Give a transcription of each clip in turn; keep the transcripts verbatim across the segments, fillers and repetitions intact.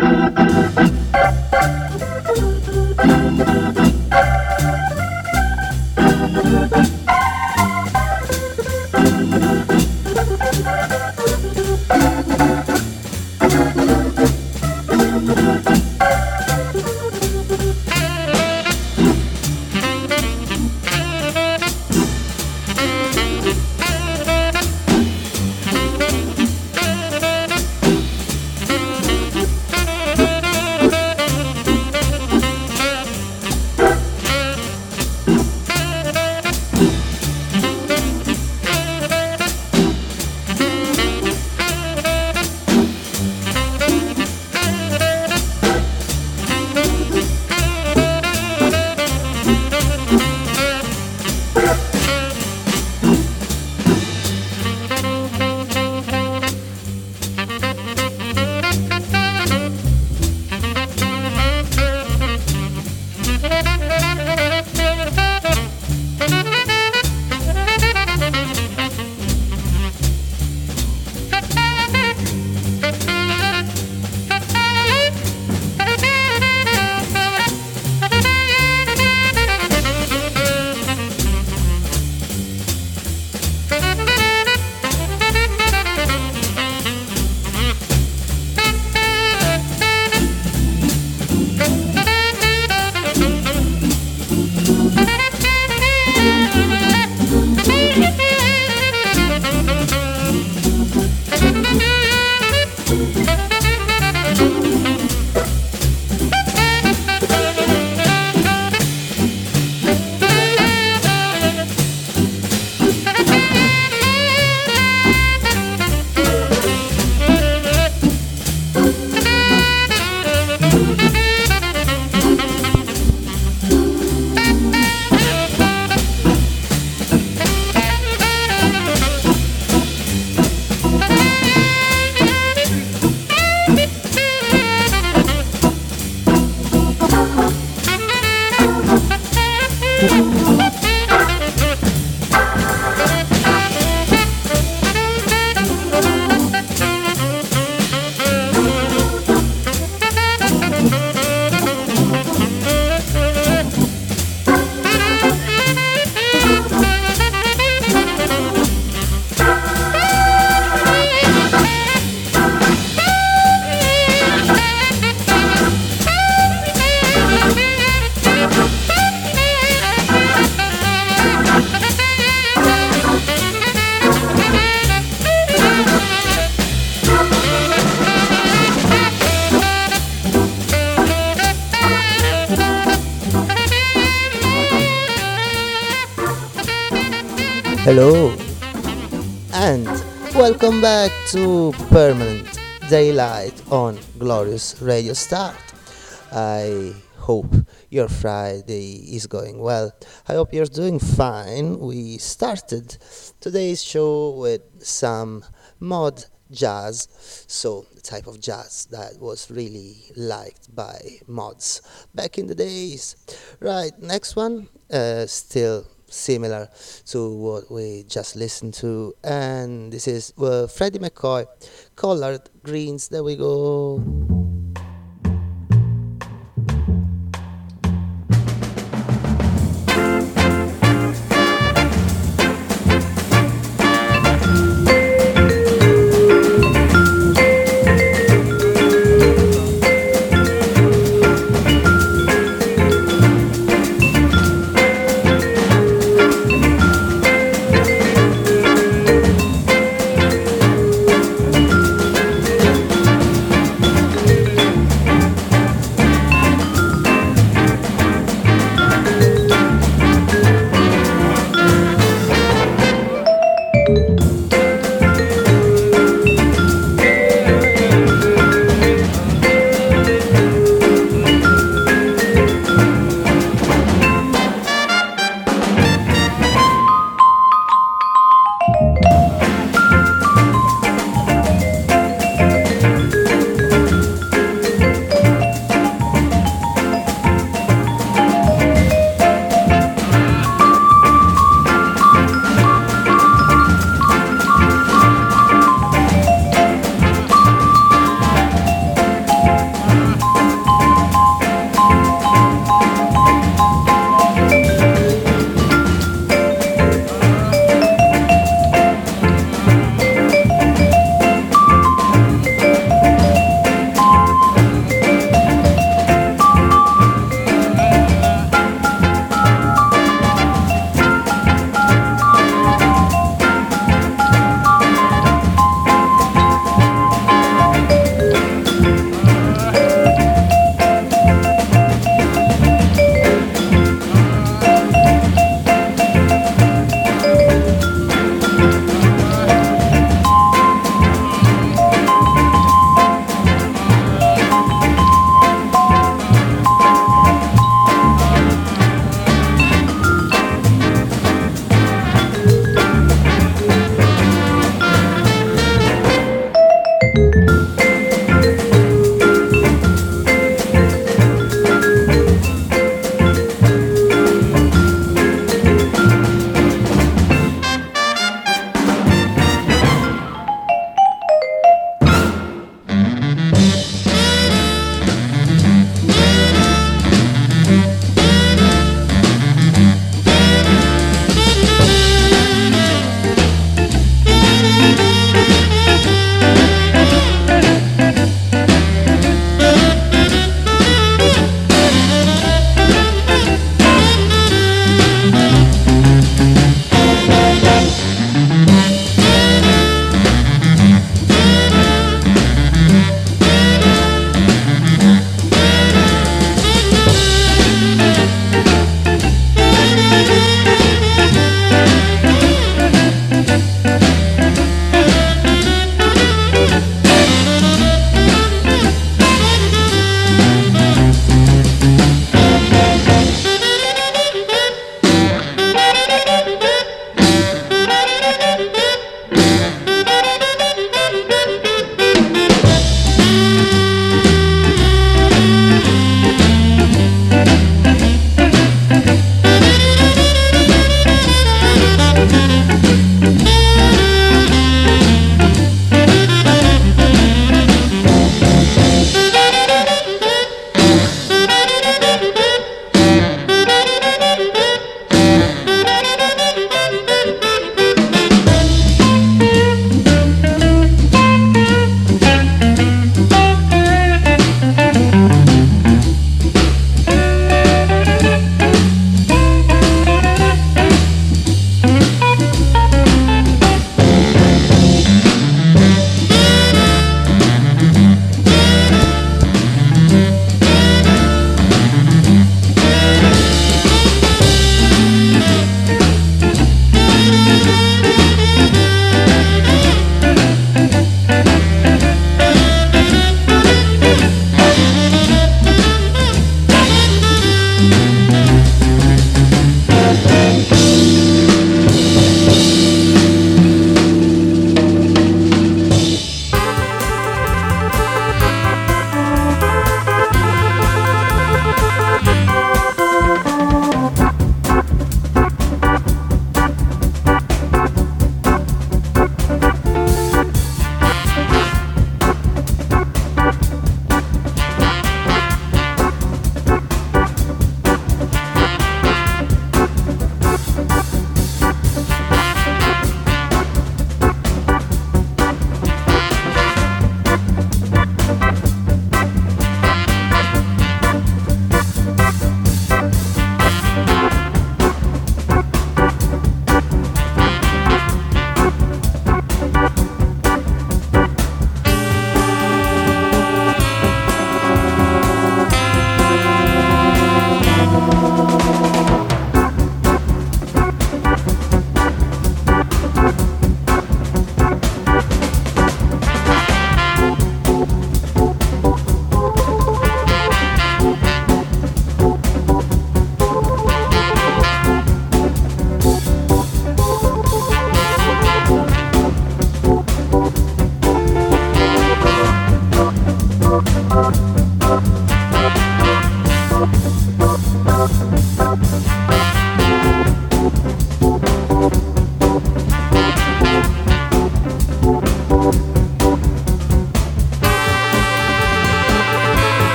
Hello, and welcome back to Permanent Daylight on Glorious Radio Start. I hope your Friday is going well. I hope you're doing fine. We started today's show with some mod jazz, so the type of jazz that was really liked by mods back in the days. Right, next one, uh, still similar to what we just listened to, and this is uh, Freddie McCoy, Collard Greens. There we go.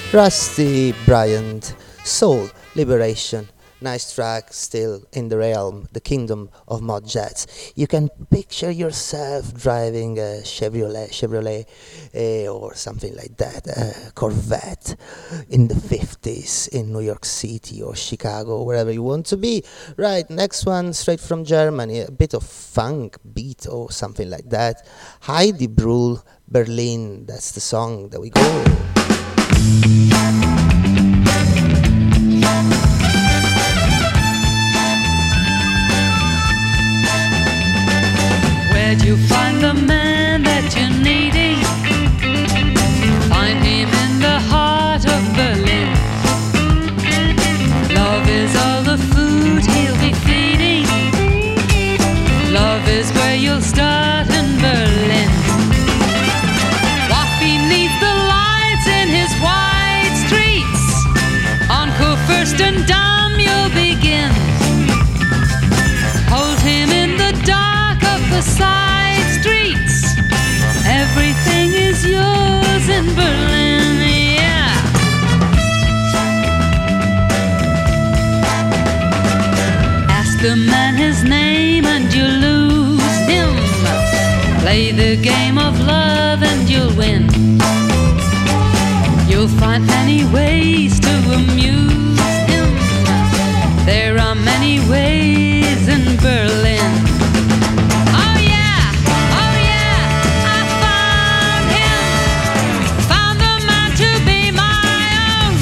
Rusty Bryant, Soul Liberation. Nice track, still in the realm, the kingdom of mod jets. You can picture yourself driving a Chevrolet, Chevrolet eh, or something like that, a Corvette in the fifties in New York City or Chicago, wherever you want to be. Right, next one, straight from Germany, a bit of funk beat or something like that. Heidi Brühl, Berlin, that's the song that we go. Where'd you find the man that you're needing? Find him in the heart of Berlin. Love is all the food he'll be feeding. Love is where you'll start in Berlin. Walk beneath the lights in his wide streets. On Kurfürstendamm you'll begin. Hold him in the dark of the side streets. Everything is yours in Berlin, yeah. Ask the man his name and you lose him. Play the game of love and you'll win. You'll find many ways to amuse him. There are many ways in Berlin. Oh yeah, oh yeah, I found him. Found the man to be my own.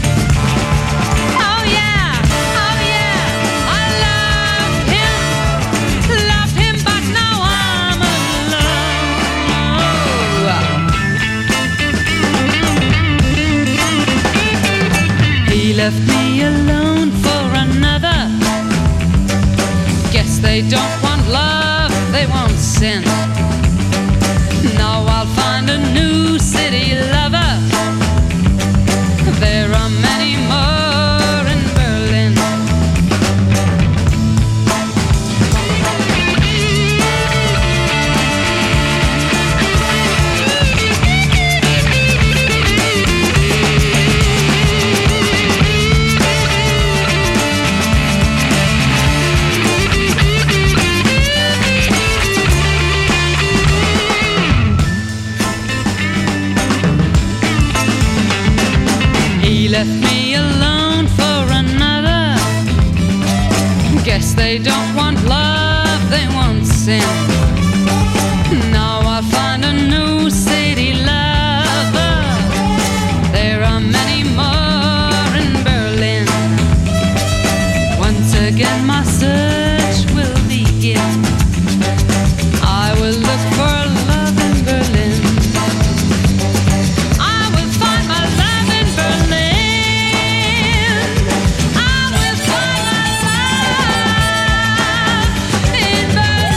Oh yeah, oh yeah, I loved him. Loved him, but now I'm alone. He left me alone for another. Guess they don't want love, they want sin. Now I'll find a new city lover. There are many more in Berlin. He left me alone for another. Guess they don't want love, they want sin. Now I'll find a new city lover. There are many more in Berlin. Once again my search will begin. I will look for love in Berlin. I will find my love in Berlin. I will find my love in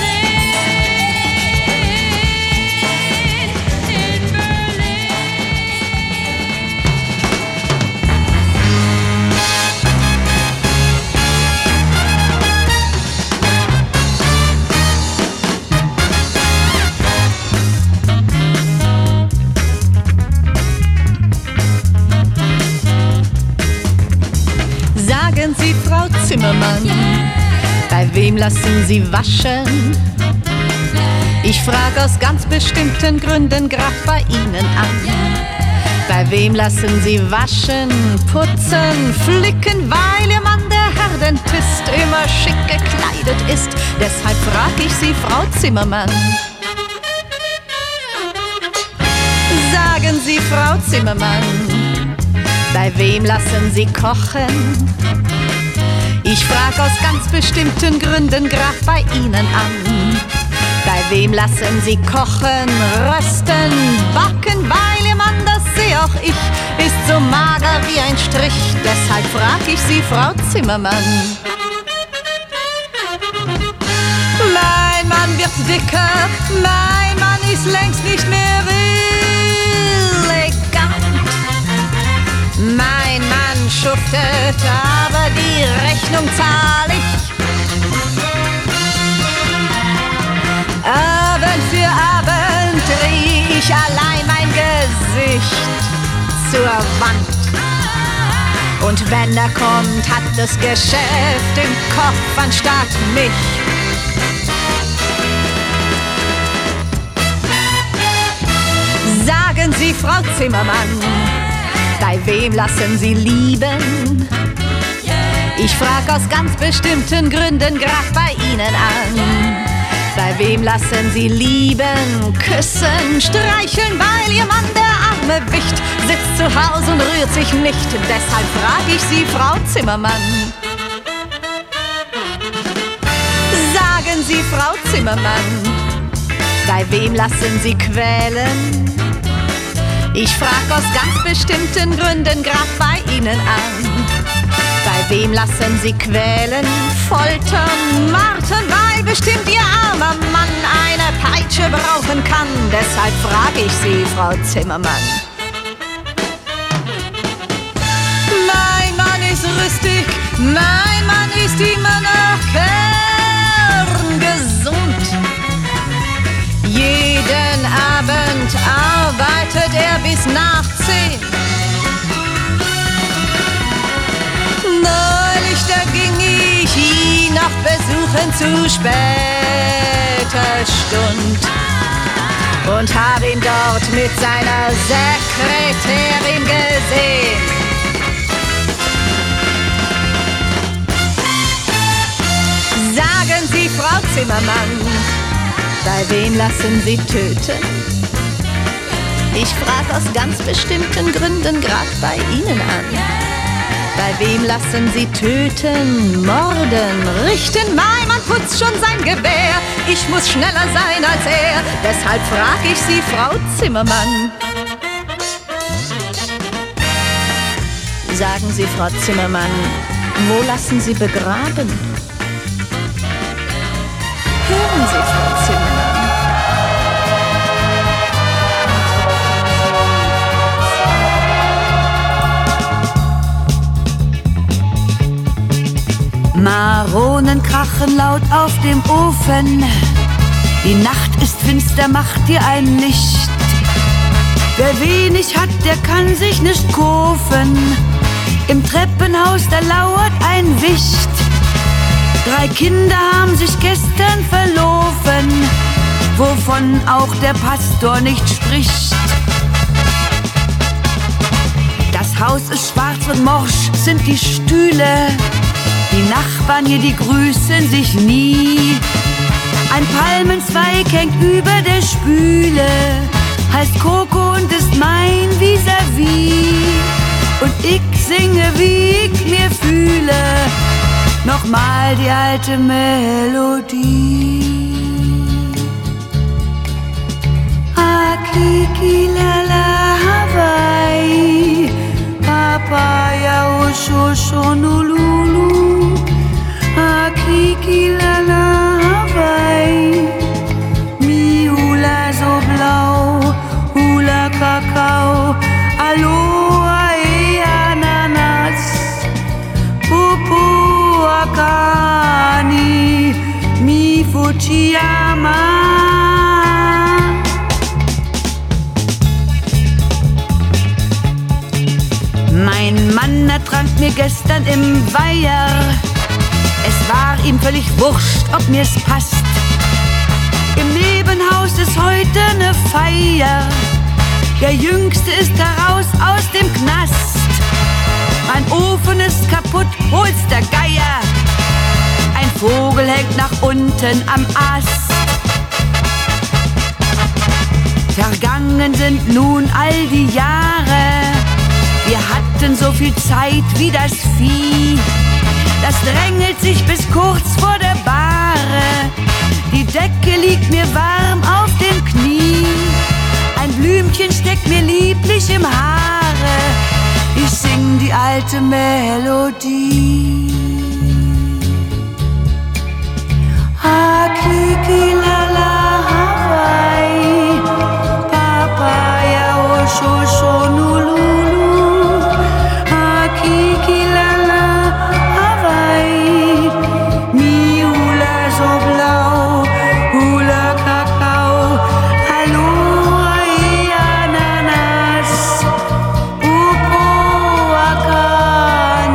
Berlin. In Berlin. Sagen Sie, Frau Zimmermann, bei wem lassen Sie waschen? Ich frage aus ganz bestimmten Gründen grad bei Ihnen an. Bei wem lassen Sie waschen, putzen, flicken, weil Ihr Mann, der Herr Dentist, immer schick gekleidet ist? Deshalb frag ich Sie, Frau Zimmermann. Sagen Sie, Frau Zimmermann, bei wem lassen Sie kochen? Ich frag aus ganz bestimmten Gründen grad bei Ihnen an. Bei wem lassen Sie kochen, rösten, backen? Weil Ihr Mann, das seh auch ich, ist so mager wie ein Strich. Deshalb frag ich Sie, Frau Zimmermann. Mein Mann wird dicker, mein Mann ist längst nicht mehr elegant. Mein Mann schuftet, aber die Rechnung zahl ich. Abend für Abend dreh ich allein mein Gesicht zur Wand. Und wenn er kommt, hat das Geschäft im Kopf anstatt mich. Sagen Sie, Frau Zimmermann, bei wem lassen Sie lieben? Ich frag aus ganz bestimmten Gründen grad bei Ihnen an. Bei wem lassen Sie lieben, küssen, streicheln, weil Ihr Mann der arme Wicht sitzt zu Hause und rührt sich nicht. Deshalb frag ich Sie, Frau Zimmermann. Sagen Sie, Frau Zimmermann, bei wem lassen Sie quälen? Ich frag aus ganz bestimmten Gründen grad bei Ihnen an. Bei wem lassen Sie quälen, foltern, martern, weil bestimmt Ihr armer Mann eine Peitsche brauchen kann. Deshalb frag ich Sie, Frau Zimmermann. Mein Mann ist rüstig, mein Mann ist immer noch kerngesund. Jeden Abend arbeitet er bis nach zehn. Neulich, da ging ich ihn noch besuchen zu später Stund und hab ihn dort mit seiner Sekretärin gesehen. Sagen Sie, Frau Zimmermann, bei wem lassen Sie töten? Ich frag aus ganz bestimmten Gründen grad bei Ihnen an. Bei wem lassen Sie töten, morden, richten? Mein Mann putzt schon sein Gewehr. Ich muss schneller sein als er. Deshalb frag ich Sie, Frau Zimmermann. Sagen Sie, Frau Zimmermann, wo lassen Sie begraben? Hören Sie, Frau Zimmermann. Maronen krachen laut auf dem Ofen. Die Nacht ist finster, macht dir ein Licht. Wer wenig hat, der kann sich nicht kaufen. Im Treppenhaus, da lauert ein Wicht. Drei Kinder haben sich gestern verlaufen, wovon auch der Pastor nicht spricht. Das Haus ist schwarz und morsch sind die Stühle. Die Nachbarn hier, die grüßen sich nie. Ein Palmenzweig hängt über der Spüle, heißt Coco und ist mein Vis-à-vis. Und ich singe, wie ich mir fühle, nochmal die alte Melodie. Akiki lala Hawaii, Papaya Oshoshonolulu. Akiki lala Hawaii, mi Hula so blau, Hula Kakao, Aloha e Ananas, Pupu Akani, mi Fujiyama. Mein Mann ertrank mir gestern im Weiher. Es war ihm völlig wurscht, ob mir's passt. Im Nebenhaus ist heute ne Feier. Der Jüngste ist heraus aus dem Knast. Mein Ofen ist kaputt, hol's der Geier. Ein Vogel hängt nach unten am Ast. Vergangen sind nun all die Jahre. Wir hatten so viel Zeit wie das Vieh. Das drängelt sich bis kurz vor der Bahre. Die Decke liegt mir warm auf den Knien. Ein Blümchen steckt mir lieblich im Haare. Ich sing die alte Melodie. Hakiki lala Hawaii, Papaya Oshoshonolulu. Hakiki lala Hawaii, mi Hula so blau, Hula Kakao, Aloha e Ananas, Upo Akani.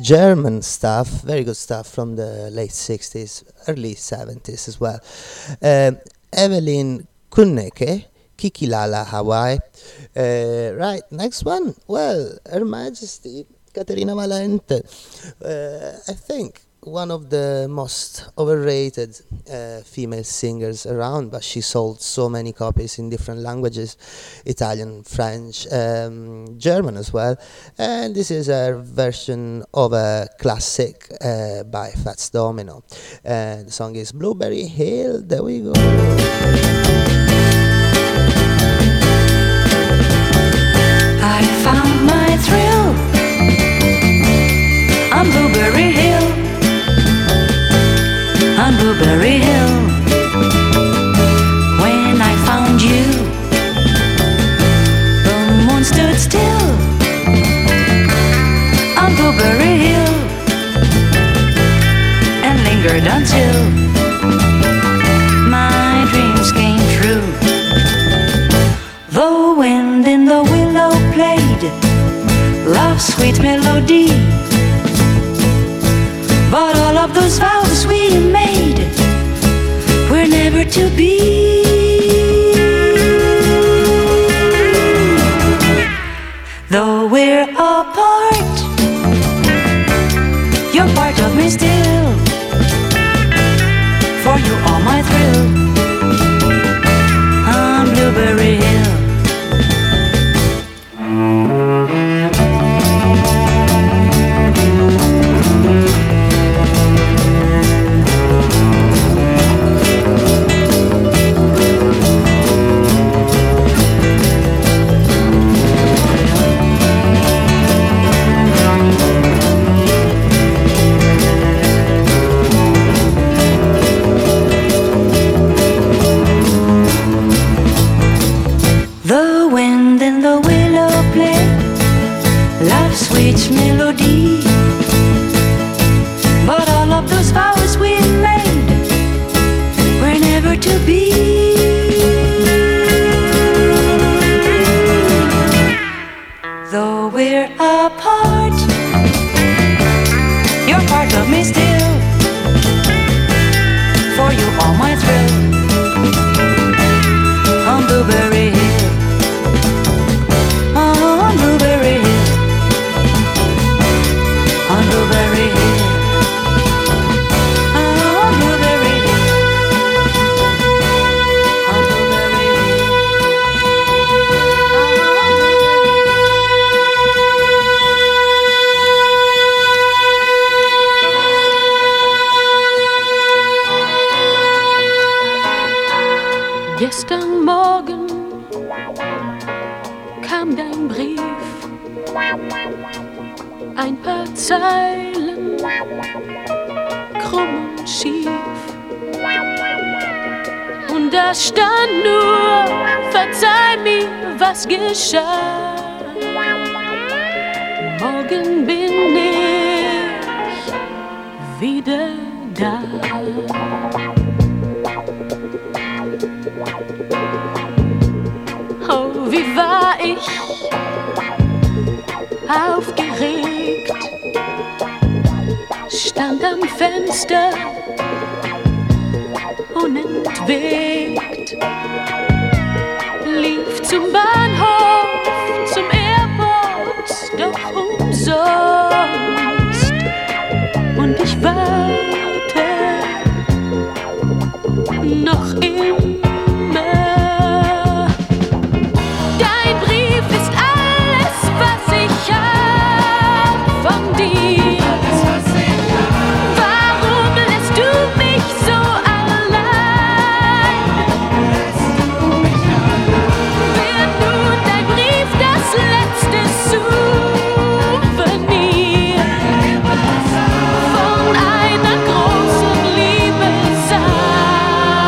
German stuff, very good stuff from the late sixties, early seventies as well. Uh, Evelyn Kunneke, Kikilala Hawaii. Uh, right, next one. Well, Her Majesty Caterina Valente. Uh, I think one of the most overrated uh, female singers around, but she sold so many copies in different languages, Italian, French, um, German as well. And this is a version of a classic uh, by Fats Domino. And the song is Blueberry Hill. There we go. I found my thrill on Blueberry Hill, on Blueberry Hill. When I found you, the moon stood still on Blueberry Hill and lingered until my dreams came true. The wind in the willow played love's sweet melody, but all of those vows we made were never to be. Though we're apart, you're part of me still. For you are my thrill on Blueberry Hill. Sweet melody, but all of those vows we made were never to be. Though we're apart, you're part of me still. For you are my thrill on Blueberry Hill, on Blueberry Hill. On Blueberry Hill, on Blueberry Hill, on Blueberry Hill, Gestern Morgen kam dein Brief, ein paar Zeilen, krumm und schief. Und da stand nur, verzeih mir, was geschah. Morgen bin ich wieder da. Oh, wie war ich aufgeregt, stand am Fenster, unentwegt, lief zum Bahnhof, zum Airport, doch umsonst. Und ich warte noch immer. Dein Brief ist alles, was ich hab von dir. Warum lässt du mich so allein? Wird nun dein Brief das letzte Souvenir von einer großen Liebe sein?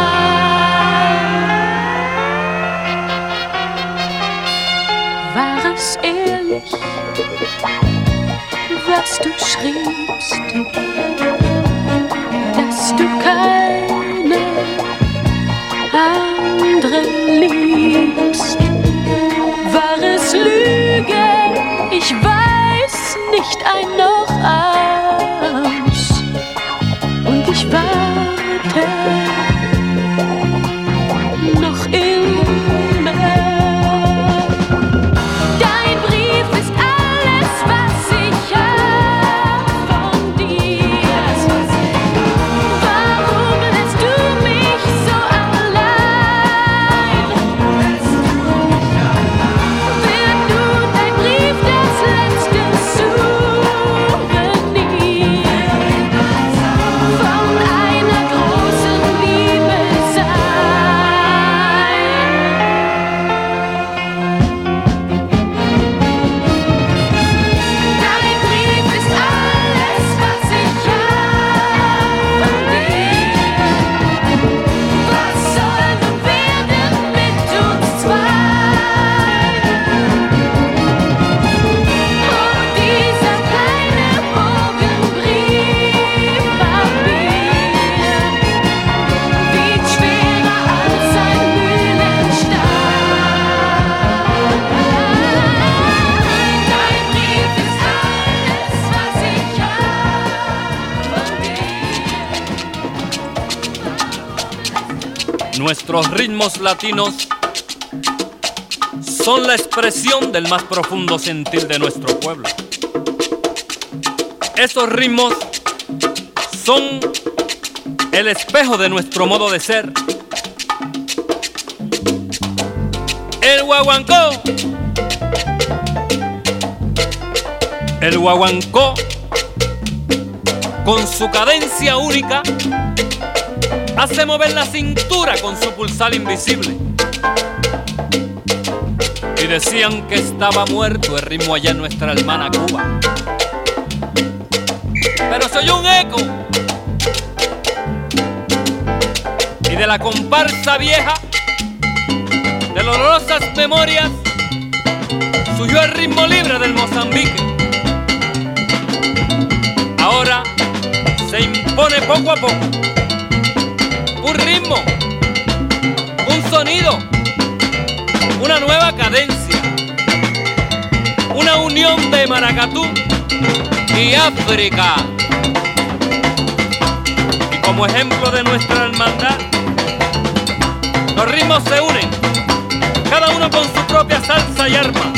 War es ehrlich, was du schriebst, dass du keine andere liebst? War es Lüge? Ich weiß nicht ein noch ein. Nuestros ritmos latinos son la expresión del más profundo sentir de nuestro pueblo. Esos ritmos son el espejo de nuestro modo de ser. El guaguancó, el guaguancó, con su cadencia única, hace mover la cintura con su pulsar invisible. Y decían que estaba muerto el ritmo allá en nuestra hermana Cuba, pero se oyó un eco, y de la comparsa vieja, de dolorosas memorias, surgió el ritmo libre del Mozambique. Ahora se impone poco a poco un ritmo, un sonido, una nueva cadencia, una unión de maracatú y África. Y como ejemplo de nuestra hermandad, los ritmos se unen, cada uno con su propia salsa y arma.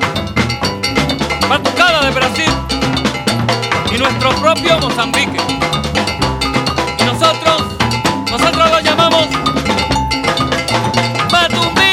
Batucada de Brasil y nuestro propio Mozambique. Y nosotros, nosotros lo llamamos Matumbique.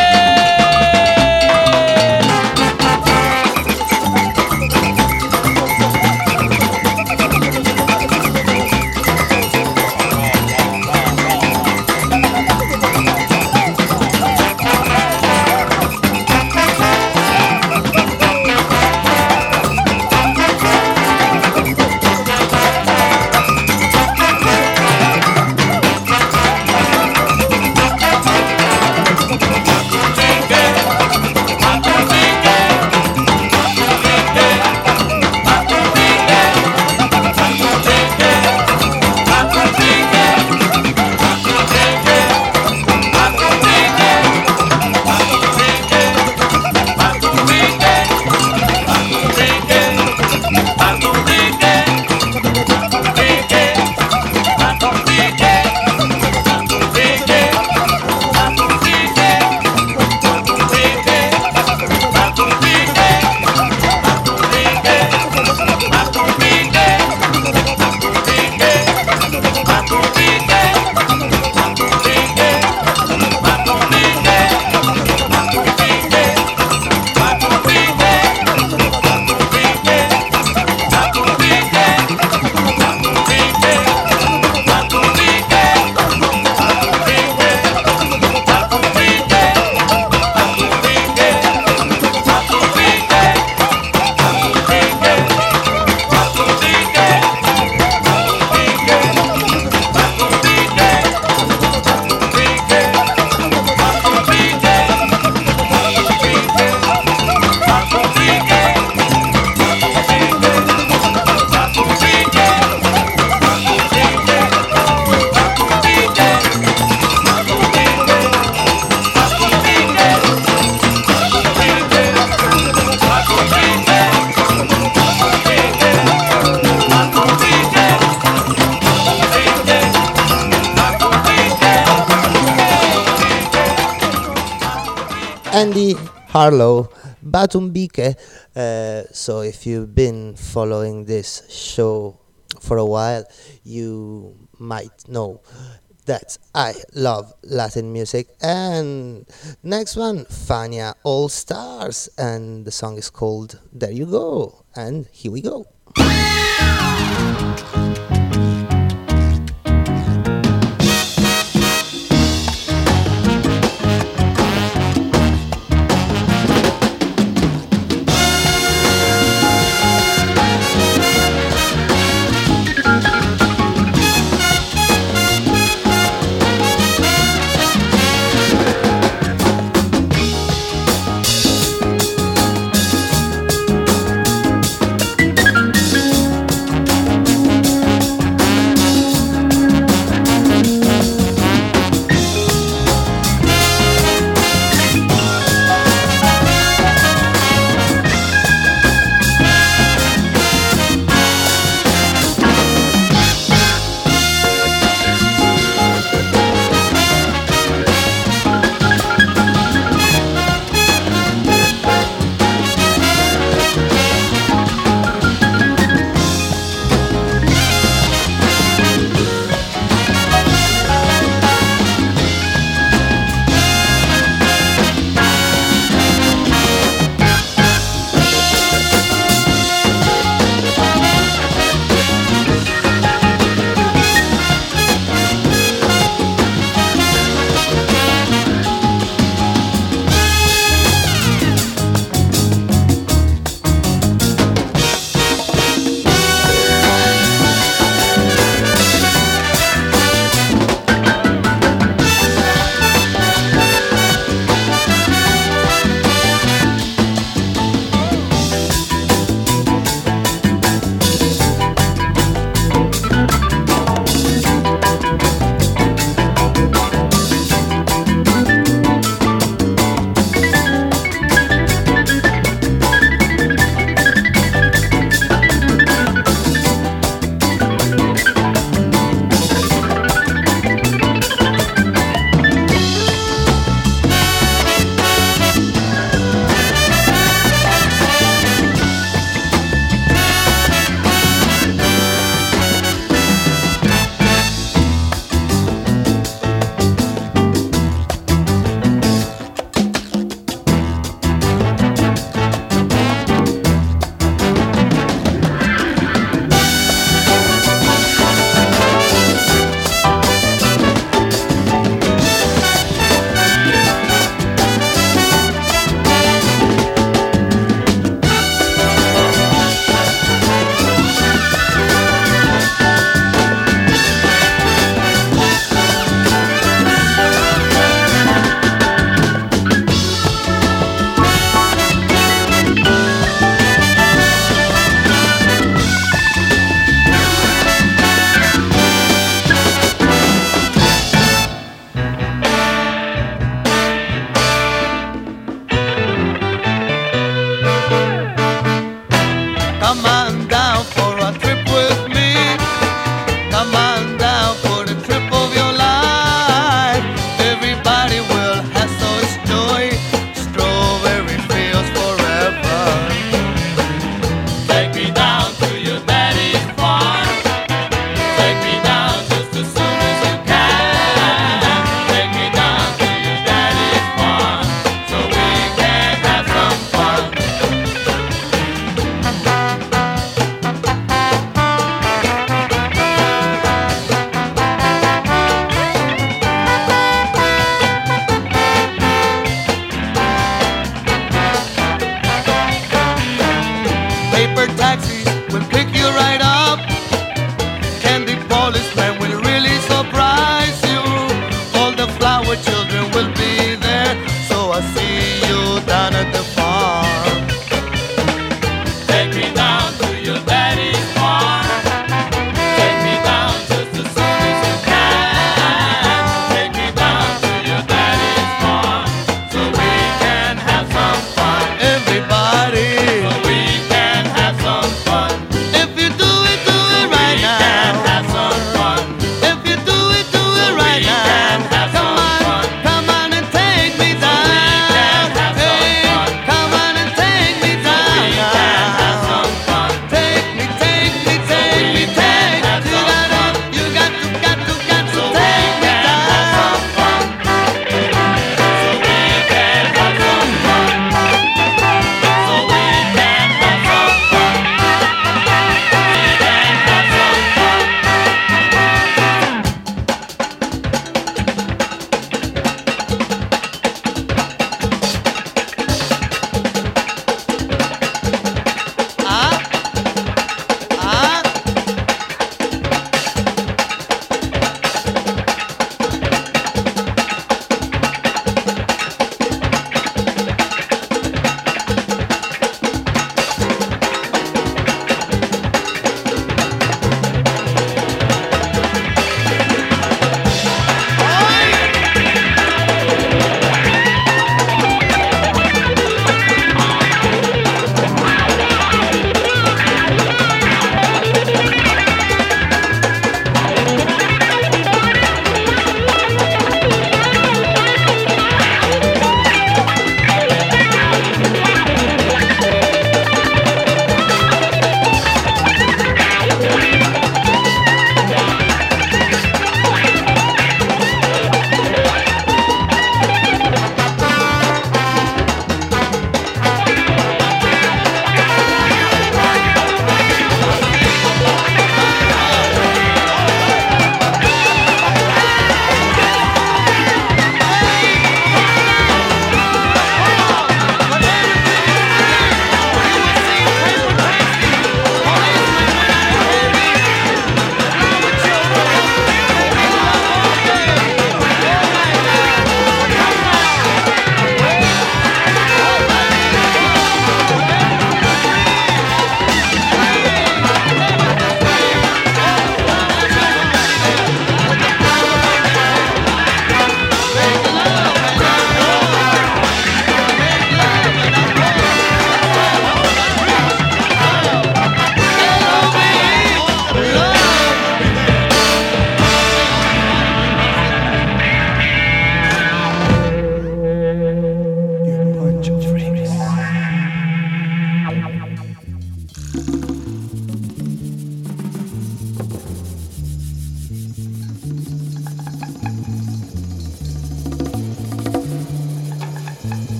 Andy Harlow, Matumbique. Uh, so if you've been following this show for a while, you might know that I love Latin music. And next one, Fania All Stars, and the song is called There You Go. And here we go.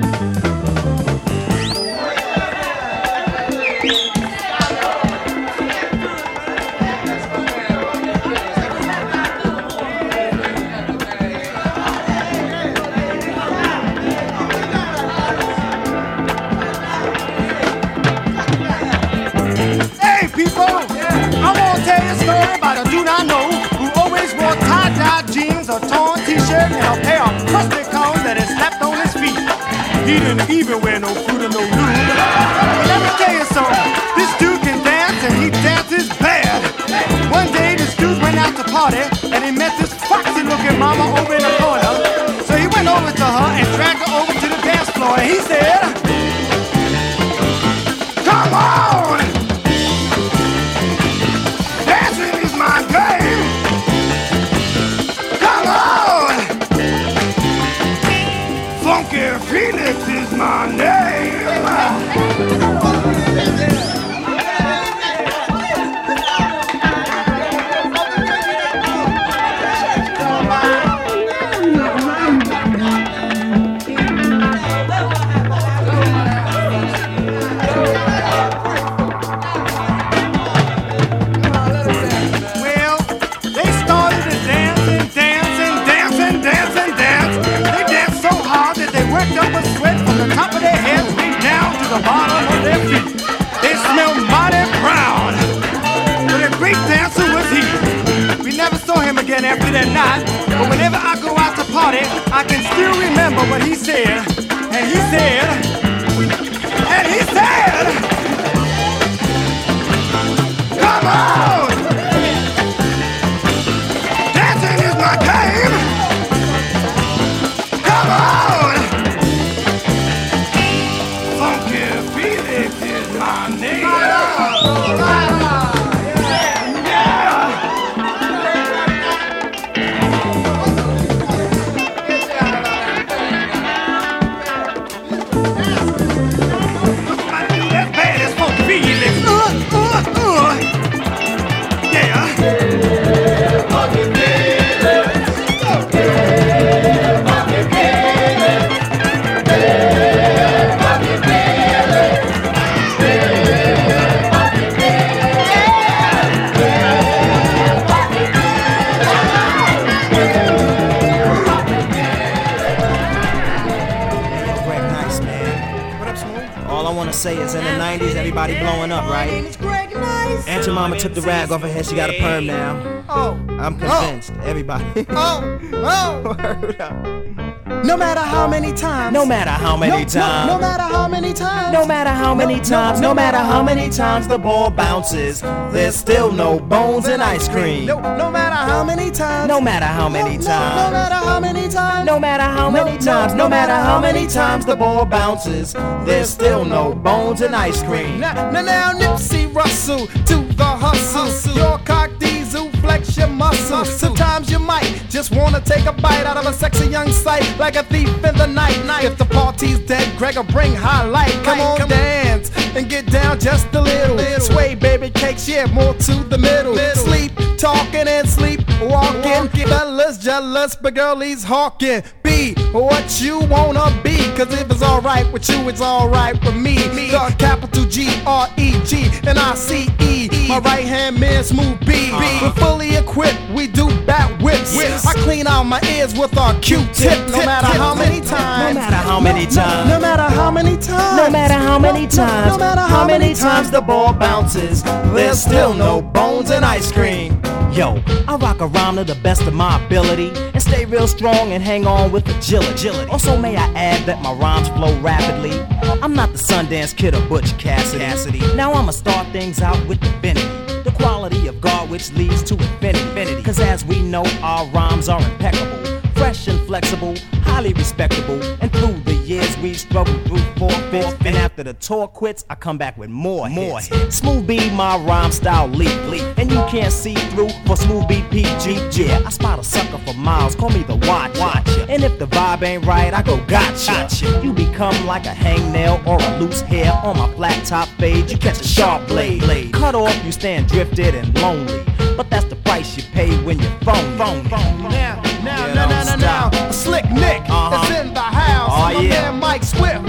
He didn't even wear no fruit or no lube. Let me tell you something. This dude can dance and he dances bad. One day this dude went out to party and he met this foxy looking mama over in the corner. So he went over to her and dragged her over to the dance floor and he said, "Come on! Dancing is my game. Come on! Funky Felix is my name." Well, they started to dance and dance and dance and dance and dance. They danced so hard that they worked up a sweat from the top of their heads right down to the bottom of their feet. They smelled mighty brown. But a great dancer was he. We never saw him again after that night. But whenever I go out to party, I can still remember what he said. And he said, and he said, "Come on! Dancing is my game! Come on! Funky Felix is my name!" That's bad as Funky Felix. Uh, uh, uh. Yeah. Greg Nice, man. What up, Smooth? All I wanna say is in the nineties, everybody blowing up, right? Aunt your mama took the rag off her head, she got a perm now. Oh. I'm convinced, everybody. Oh. Oh. Word up. No matter how many times, No matter how many no, times, no, no matter how many times, no matter how many times, no matter how many times the ball bounces, there's still no bones in ice cream. no, no matter how many times, No matter how many no, no, no times, matter how many times, no matter how many no, times, no no matter how many times the ball bounces, there's still no bones in ice cream. Now, now, now Nipsey Russell to the hustle. Your cock diesel, flex your muscle. Sometimes you might just wanna take a bite out of a sexy young sight, like a thief in the night. If the party's dead, Gregor bring highlight. Come on, dance and get down just a little. Sway, baby cakes, yeah, more to the middle. Sleep talking and sleep walking. Fellas jealous, but girlies hawking. Be what you wanna be, cause if it's alright with you, it's alright with me. The capital G R E G and I C E. My right hand man, Smooth B. We're fully equipped, we do bat whips. I clean out my ears with our Q-tip. No matter how many times, No matter how many times, no matter how many times, no matter how many times, no matter how many times the ball bounces, there's still no bones in ice cream. Yo, I rock a rhyme to the best of my ability and stay real strong and hang on with agility. Also, may I add that my rhymes flow rapidly. I'm not the Sundance Kid or Butch Cassidy. Now I'ma start things out with divinity, the quality of God which leads to infinity. Cause as we know, our rhymes are impeccable, fresh and flexible, highly respectable. And through the years we've struggled through forfeits, and after the tour quits, I come back with more, more hits. hits. Smooth B, my rhyme style leap, leap, and you can't see through for Smooth B P G. Yeah, I spot a sucker for miles, call me the watcher. watcher. And if the vibe ain't right, I go gotcha. gotcha. You become like a hangnail or a loose hair on my flat top fade. You catch a sharp blade, blade. Cut off, you stand drifted and lonely. But that's the price you pay when you're phone, phone, phone. Now, now, Yeah, now, don't now, now, now, Slick Nick Uh-huh. is in the house. Oh, My yeah. man Mike Swift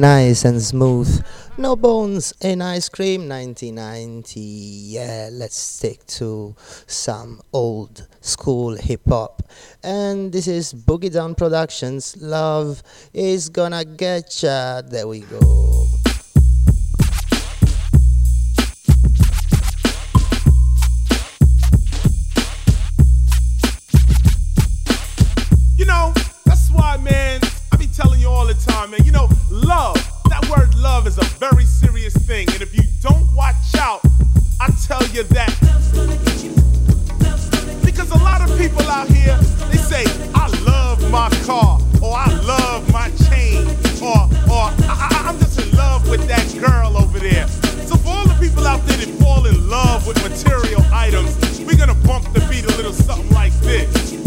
nice and smooth. No bones in ice cream. nineteen ninety. Yeah, let's stick to some old school hip hop. And this is Boogie Down Productions. Love is gonna get ya. There we go. You know, that's why, man, I be telling you all the time, man, you know, love, that word love is a very serious thing. And if you don't watch out, I tell you that. Because a lot of people out here, they say, I love my car, or I love my chain, or, or I, I, I'm just in love with that girl over there. So for all the people out there that fall in love with material items, we're gonna bump the beat a little something like this.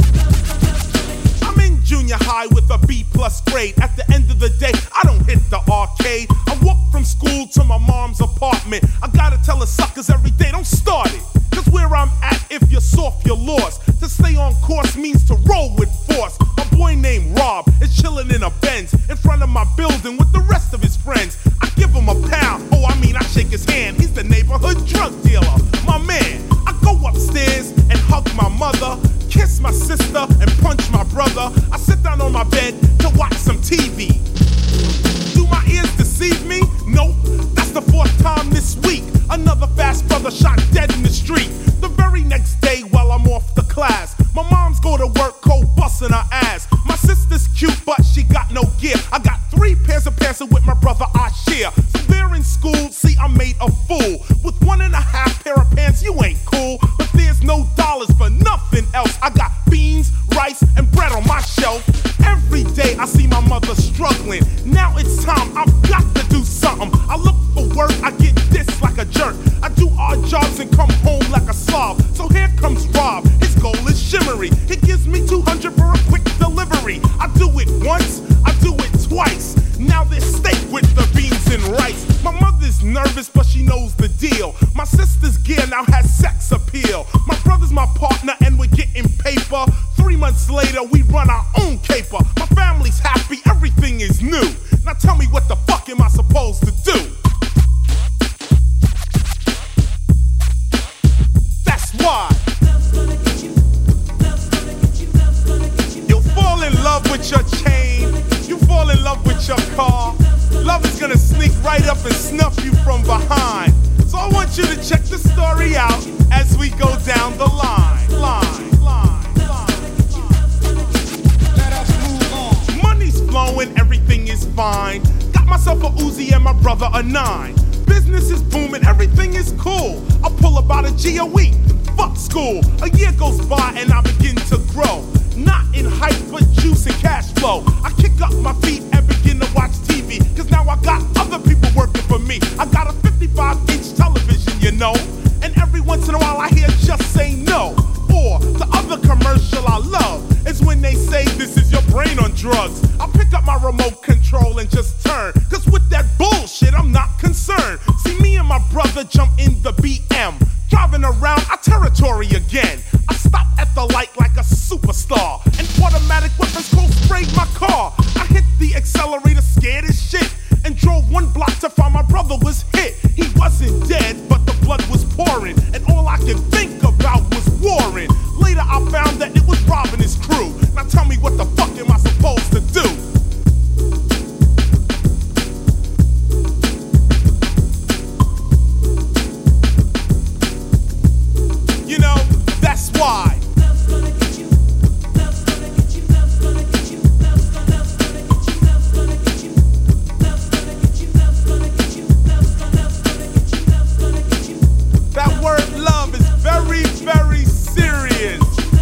Junior high with a B plus grade. At the end of the day, I don't hit the arcade. I walk from school to my mom's apartment. I gotta tell the suckers every day, don't start it. Cause where I'm at, if you're soft, you're lost. To stay on course means to roll with force. A boy named Rob is chilling in a Benz in front of my building with the rest of his friends. I give him a pound, oh I mean I shake his hand. He's the neighborhood drug dealer, my man. I go upstairs and hug my mother, kiss my sister and punch my brother. I sit down on my bed to watch some T V. Do my ears deceive me? Nope, that's the fourth time this week. Another fast brother shot dead in the street. The very next day while I'm off the class, my mom's go to work cold busting her ass. My sister's cute but she got no gear. I got three pairs of pants with my brother I share. So they're in school, see I'm made a fool. With one and a half pair of pants you ain't cool. But there's no dollars for nothing else. I got beans, rice, and bread on my shelf. Every day I see my mother struggling. Now it's time, I've got to do something. I look for work, I get dissed like a jerk. I do odd jobs and come home like a slob. So here comes Rob, his goal is shimmery. He gives me two hundred for a quick delivery. I do it once, I do it twice. Now there's steak with the beans and rice. My mother's nervous but she knows the deal. My sister's gear now has sex appeal. My brother's my partner and we're getting paper. Three months later we run our own caper. My family's happy, everything is new. Now tell me what the fuck am I supposed to do? That's why you'll fall in love with your chain. You fall in love with your car. Love is gonna sneak right up and snuff you from behind. So I want you to check the story out as we go down the line. Line, line, line. Let us move on. Money's flowing, everything is fine. Got myself a Uzi and my brother a nine. Business is booming, everything is cool. I pull about a G a week. Fuck school. A year goes by and I begin to grow. Not in height, but juice and cash flow. I kick up my feet and begin to watch T V. Cause now I got other people working for me. I got a fifty-five inch television, you know. And every once in a while I hear just say no. Or the other commercial I love is when they say this is your brain on drugs. I pick up my remote control and just turn. Cause with that bullshit I'm not concerned. See me and my brother jump in the B M. Driving around our territory again. I stop at the light like a superstar. And automatic weapons cold sprayed my car. I hit the accelerator scared as shit. And drove one block to find my brother was hit. He wasn't dead, but the blood was pouring. And all I could think about was Warren. Later I found that it was Rob and his crew. Now tell me what the fuck am I supposed to do? You know, that's why. That word love is very, very serious.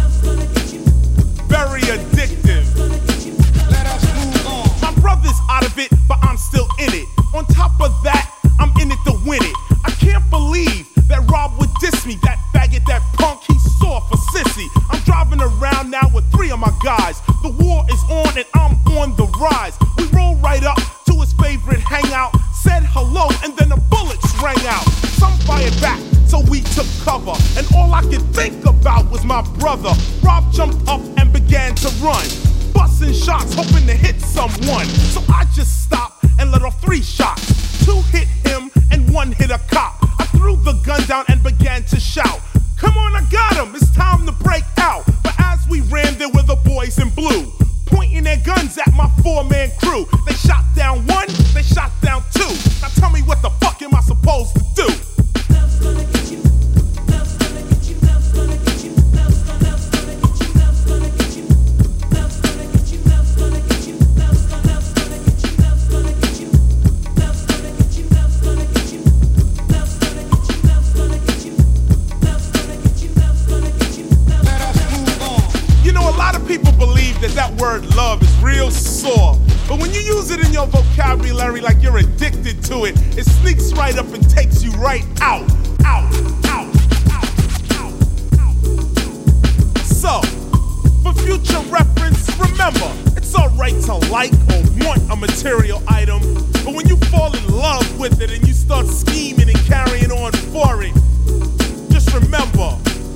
Very addictive. Let us move on. My brother's out of it, but I'm still in it. On top of that, I'm in it to win it. I can't believe that Rob would diss me. That faggot, that punk, he saw for sissy. I'm driving around now with three of my guys. The war is on and I'm on the rise. We roll right up to his favorite hangout. Said hello and then the bullets rang out. Some fired back, so we took cover. And all I could think about was my brother. Rob jumped up and began to run, busting shots, hoping to hit someone. So I just stopped and let off three shots. Two hit him and one hit a cop. I threw the gun down and began to shout, "Come on, I got him, it's time to break out." But as we ran, there were the boys in blue, pointing their guns at my four-man crew. They shot down one, they shot down two. Now tell me, what the fuck am I supposed to do? Love's gonna get you. Love's gonna get you. Love's gonna get you. Love's gonna get you. Love's gonna get you. Love's gonna get you. Love's gonna get you. Love's gonna get you. Love's gonna get you. Love's gonna get you. Love's gonna get you. Love's gonna get you. Love's gonna get you. Love's gonna get you. Love's gonna get you. Let us move on. You know, a lot of people believe that that word love is real sore. But when you use it in your vocabulary like you're addicted to it, it sneaks right up and takes you right out, out, out, out, out, out. So, for future reference, remember, it's alright to like or want a material item, but when you fall in love with it and you start scheming and carrying on for it, just remember,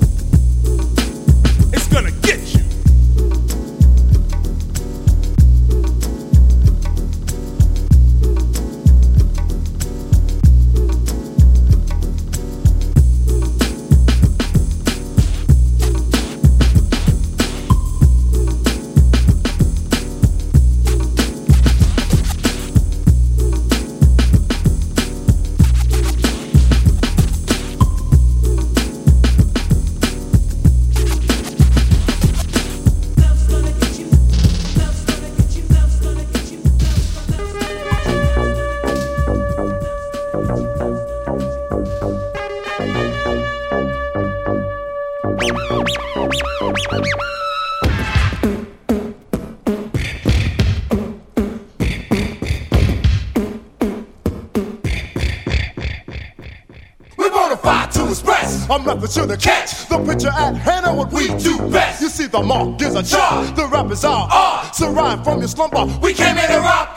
it's gonna get you. I'm nothing to the catch. The picture at hand and what we do best. You see, the mark is a chart. The rap is our art. So rhyme from your slumber. We came here to rock.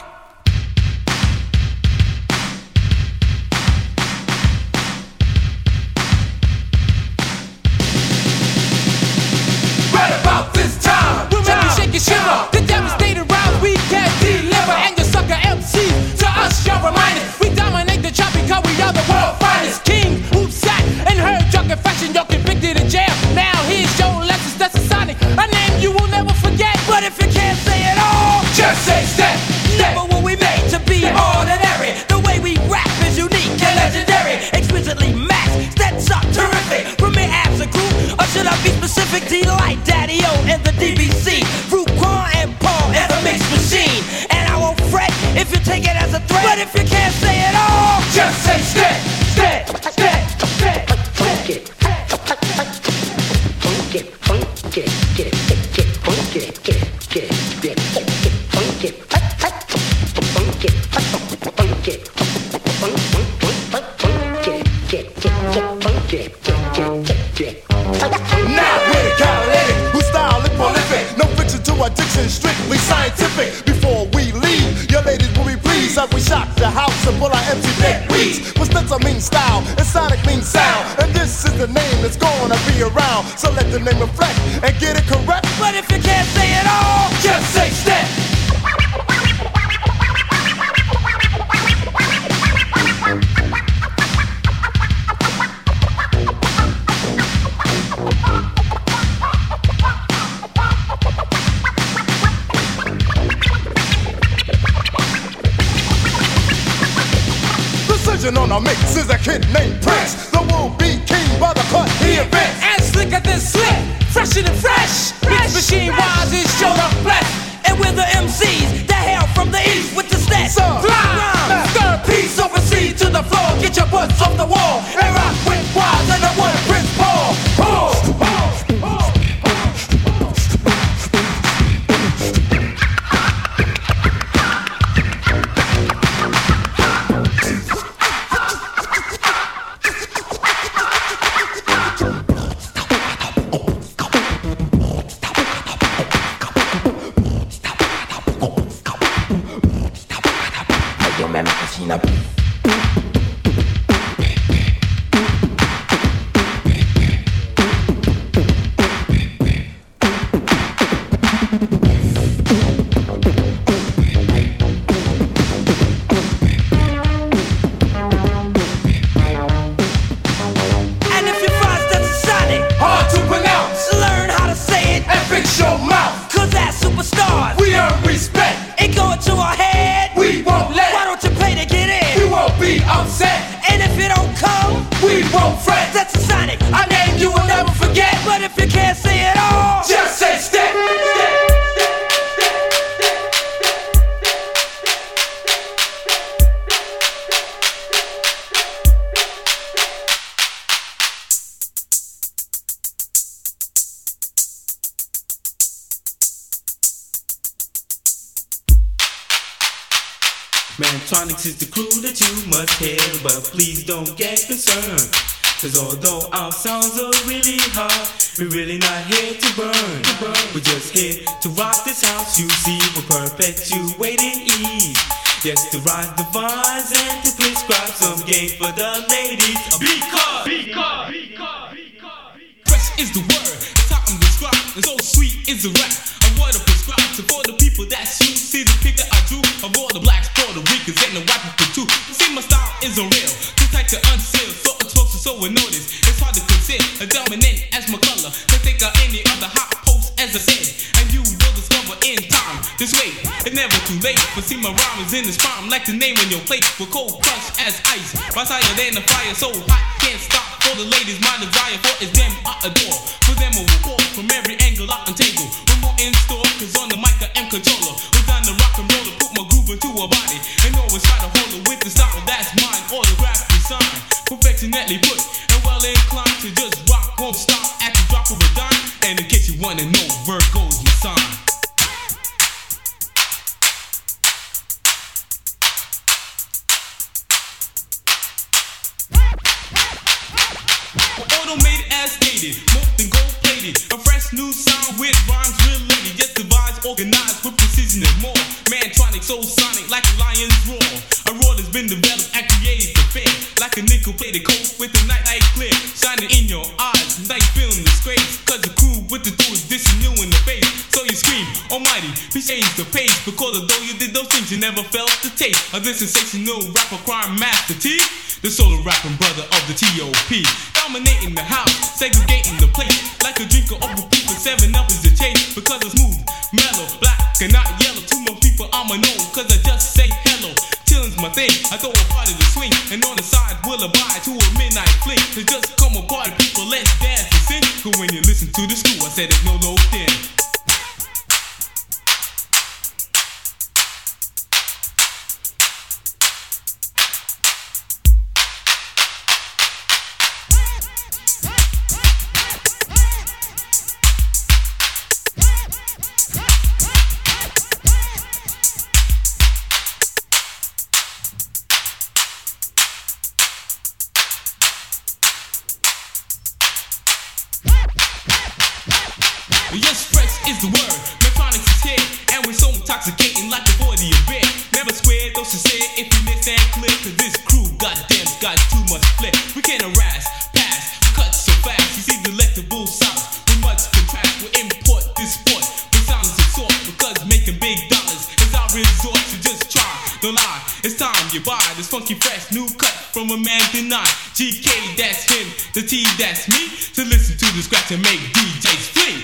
Right about this time, we'll make you shake and shiver. The devastating rounds we can deliver, and your sucker M Cs to us, you're reminded. We dominate the chart because we are the world finest. King who sat and heard drunk confession, you're convicted in jail. Now here's your lessons, that's a sonic, a name you will never forget. But if you can't say it all, just say step. Never were we made to be ordinary. The way we rap is unique and legendary. Exquisitely maxed, that's up terrific. From me as a group, or should I be specific? Delight, Daddy-O, and the D B C. Fruit, Quan, and Paul, and the mix machine. And I won't fret if you take it as a threat. But if you can't say it all, just say step, step, step, step. Funk it, funk it, funk it, get it, get it, funk it, get it, get it, get it, funk it, funk it, funk it, funk, funk, funk, funk, funk it, get, get, get, funk it, get, get, get, get. Now we're the catalytic, who style is prolific. No fiction to addiction, strictly scientific. Before we leave, your ladies will be pleased as we shock the house and pull our empty neck weeds. But Spencer means style, and Sonic means sound, and this is the name that's gonna be around. So let the name reflect and get it correct. But if you can't say it all, just say step. On a mix is a kid named Prince. The will-be king by the cut he invents. And slicker than slick, fresher than fresh. Mix machine wise is show up flesh. And we're the M Cs that hail from the east with the stats. Fly, rhyme, third piece overseas to the floor. Get your butts off the wall and rock with wise and the one Prince Paul. Paul. Mantronics is the crew that you must hear, but please don't get concerned. Cause although our sounds are really hard, we're really not here to burn. We're just here to rock this house, you see. We're perpetuating ease. Yes, to rise the vines and to prescribe some game for the ladies. Because, because, because, because fresh is the word, it's how I'm described, and so sweet is the rap. I'm what I prescribe to for the people that you see the picture I drew of all the blacks, Puerto Ricans, and the white people too. See, my style is unreal, too tight to unseal, so explosive, so we notice. It's hard to conceal, a dominant as my color. Can think of any other hot post as I said, and you will discover in time. This way, it's never too late. But see, my rhyme is in this prime, like the name on your plate. We're cold crushed as ice, rise higher than the fire, so hot can't stop. For the ladies, my desire for is them I adore. For them, I will call from every angle I untangle. We're more in store, cause on the mic I am controller. We're down to rock and roll to put my groove into a body, and always try to hold it with the style that's mine. Autograph design, perfectionately put, and well inclined to just rock, won't stop at the drop of a dime. And in case you wanna know, Virgo's my sign. Automated as stated, more than gold plated. A fresh new sound with rhymes related. Just devised, organized with precision and more. Mantronic, so sonic, like a lion's roar. A roar that's been developed and created to fair. Like a nickel plated coat with the nightlight clear. Shining in your eyes, now you feeling disgrace. Cause the crew with the two is dissing you in the face. So you scream, almighty, please change the pace. Because although you did those things, you never felt the taste of this sensational rapper crime master T. The solo rapping brother of the T O P. Dominating the house, segregating the place. Like a drinker of the people, seven up is the chase. Because it's smooth, mellow, black and not yellow. To my people I'ma know, cause I just say hello. Chillin's my thing, I throw a party to swing. And on the side we'll abide to a midnight fling. To just come apart, people let's dance and sing. Cause when you listen to the screw, I said there's no low thin. Yes, fresh is the word. Mantronics is here, and we're so intoxicating like the body of beer. Never square, though sincere, if you miss and clear. Cause this crew, goddamn, got too much flair. We can't harass, pass, cut so fast. You see delectable sounds, we must contrast. We import this sport, with sounds of sort. Because making big dollars is our resort. So just try, don't lie, it's time you buy this funky fresh new cut from a man denied. G K, that's him, the T, that's me. To listen to the scratch and make D Js flee.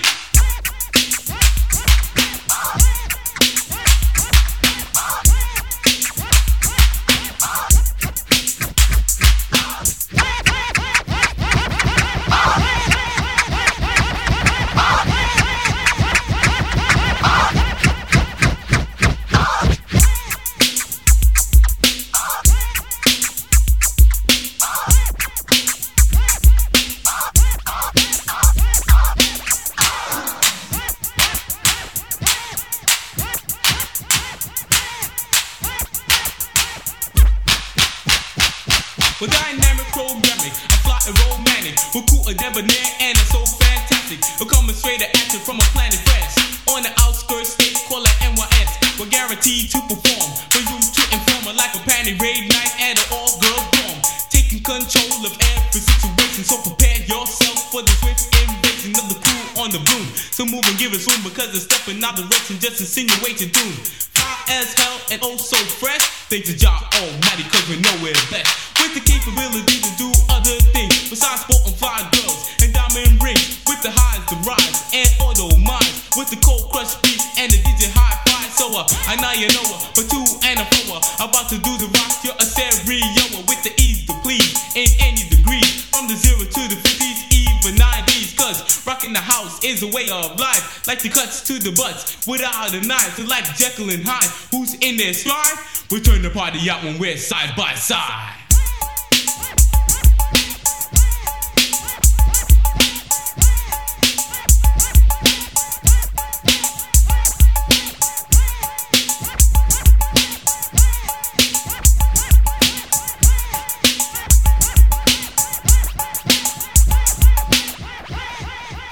We're dynamic, programming, I fly and romantic. We're cool and debonair and it's so fantastic. We're coming straight to action from a planet fresh. On the outskirts, state, call it N Y S. We're guaranteed to perform for you to inform like a panty raid night at an all-girl dorm. Taking control of every situation, so prepare yourself for the swift invasion of the crew on the broom. So move and give us room because it's stepping out direction, just insinuating doom. Fly as hell and oh so fresh. Thanks to Jah Almighty, cause we know we're best. With the capability to do other things besides sport and fly girls and diamond rings. With the highs, the rise, and auto minds. With the cold crush beats and the D J high five. So uh, I know you know her, but two and a four. About to do the rock, you're a stereo. With the ease to please in any degree. From the zero to the fifties, even nineties. Cause rocking the house is a way of life. Like the cuts to the butts without a knife. So like Jekyll and Hyde, who's in their slide? We turn the party out when we're side by side.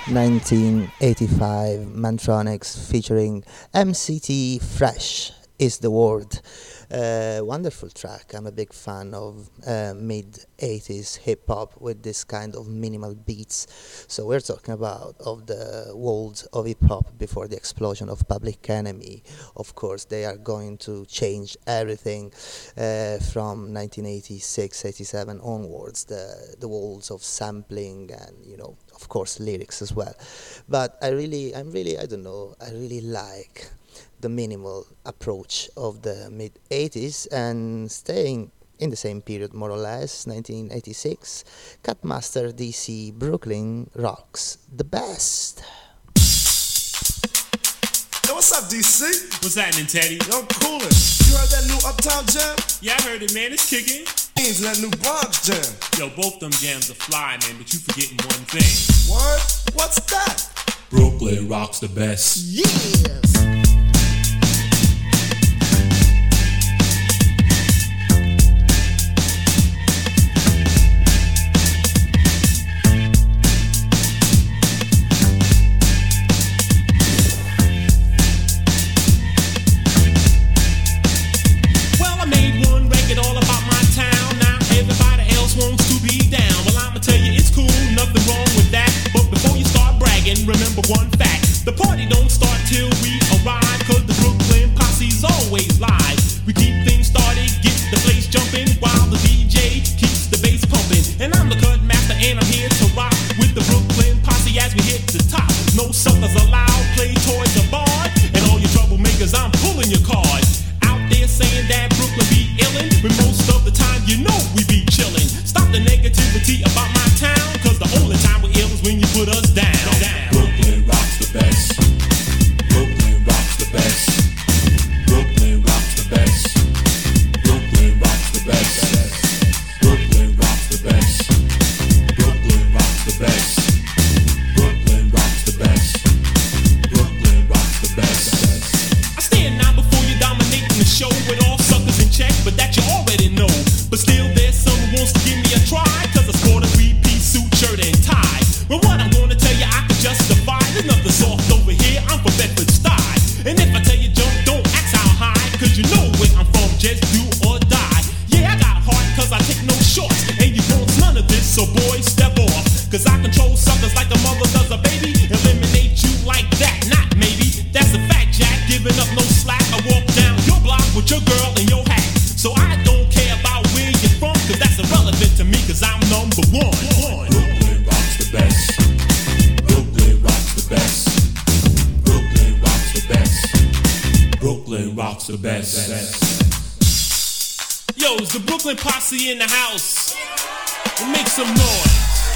nineteen eighty-five, Mantronix featuring M C T, Fresh is the Word. Uh, wonderful track. I'm a big fan of uh, mid-eighties hip-hop with this kind of minimal beats. So we're talking about of the world of hip-hop before the explosion of Public Enemy. Of course, they are going to change everything uh, from nineteen eighty-six, eighty-seven onwards, the, the worlds of sampling and, you know, of course, lyrics as well. But I really, I'm really, I don't know, I really like the minimal approach of the mid-eighties, and staying in the same period more or less, nineteen eighty-six, Cutmaster D C, Brooklyn rocks the best. Yo, what's up, D C? What's happening, Teddy? Yo, I'm coolin'. You heard that new Uptown Jam? Yeah, I heard it, man. It's kicking. Means that new Bronx Jam. Yo, both them jams are fly, man, but you forgetting one thing. What? What's that? Brooklyn rocks the best. Yes! Remember one fact, the party don't start till we arrive, cause the Brooklyn posse's always live. We keep things started, get the place jumping, while the D J keeps the bass pumping. And I'm the cut master and I'm here to rock with the Brooklyn posse as we hit the top. No suckers allowed, play toys are barred, and all you troublemakers, I'm pulling your card. Out there saying that Brooklyn be illin', when most of the time you know we be chillin'. Stop the negativity about my town, cause the only time we're ill is when you put us down. down. Brooklyn rocks the best. Brooklyn rocks the best. Brooklyn rocks the best. Brooklyn rocks the best. Brooklyn rocks the best. Brooklyn rocks the best. Brooklyn rocks the best. Brooklyn rocks the best. I stand now before you dominating the show with all suckers in check, but that you already know. But still there's some who wants to give me a try, cause I sport a three-piece suit, shirt, and tie. Well, what I'm gonna tell you, I can justify. There's nothing soft over here, I'm from Bedford Stuyve. And if I tell you jump, don't ask how high, cause you know where I'm from, just do or die. Yeah, I got heart, cause I take no shorts, and you want none of this, so boys, step off. Cause I control suckers like a mother does a baby. Eliminate you like that, not maybe. That's a fact, Jack, giving up no slack. I walk down your block with your girl and your hat. So I don't care about where you're from, cause that's irrelevant to me, cause I'm number one. Brooklyn rocks the best. Brooklyn rocks the best. Brooklyn rocks the best. Brooklyn rocks the best. Yo, is the Brooklyn posse in the house? Well, make some noise.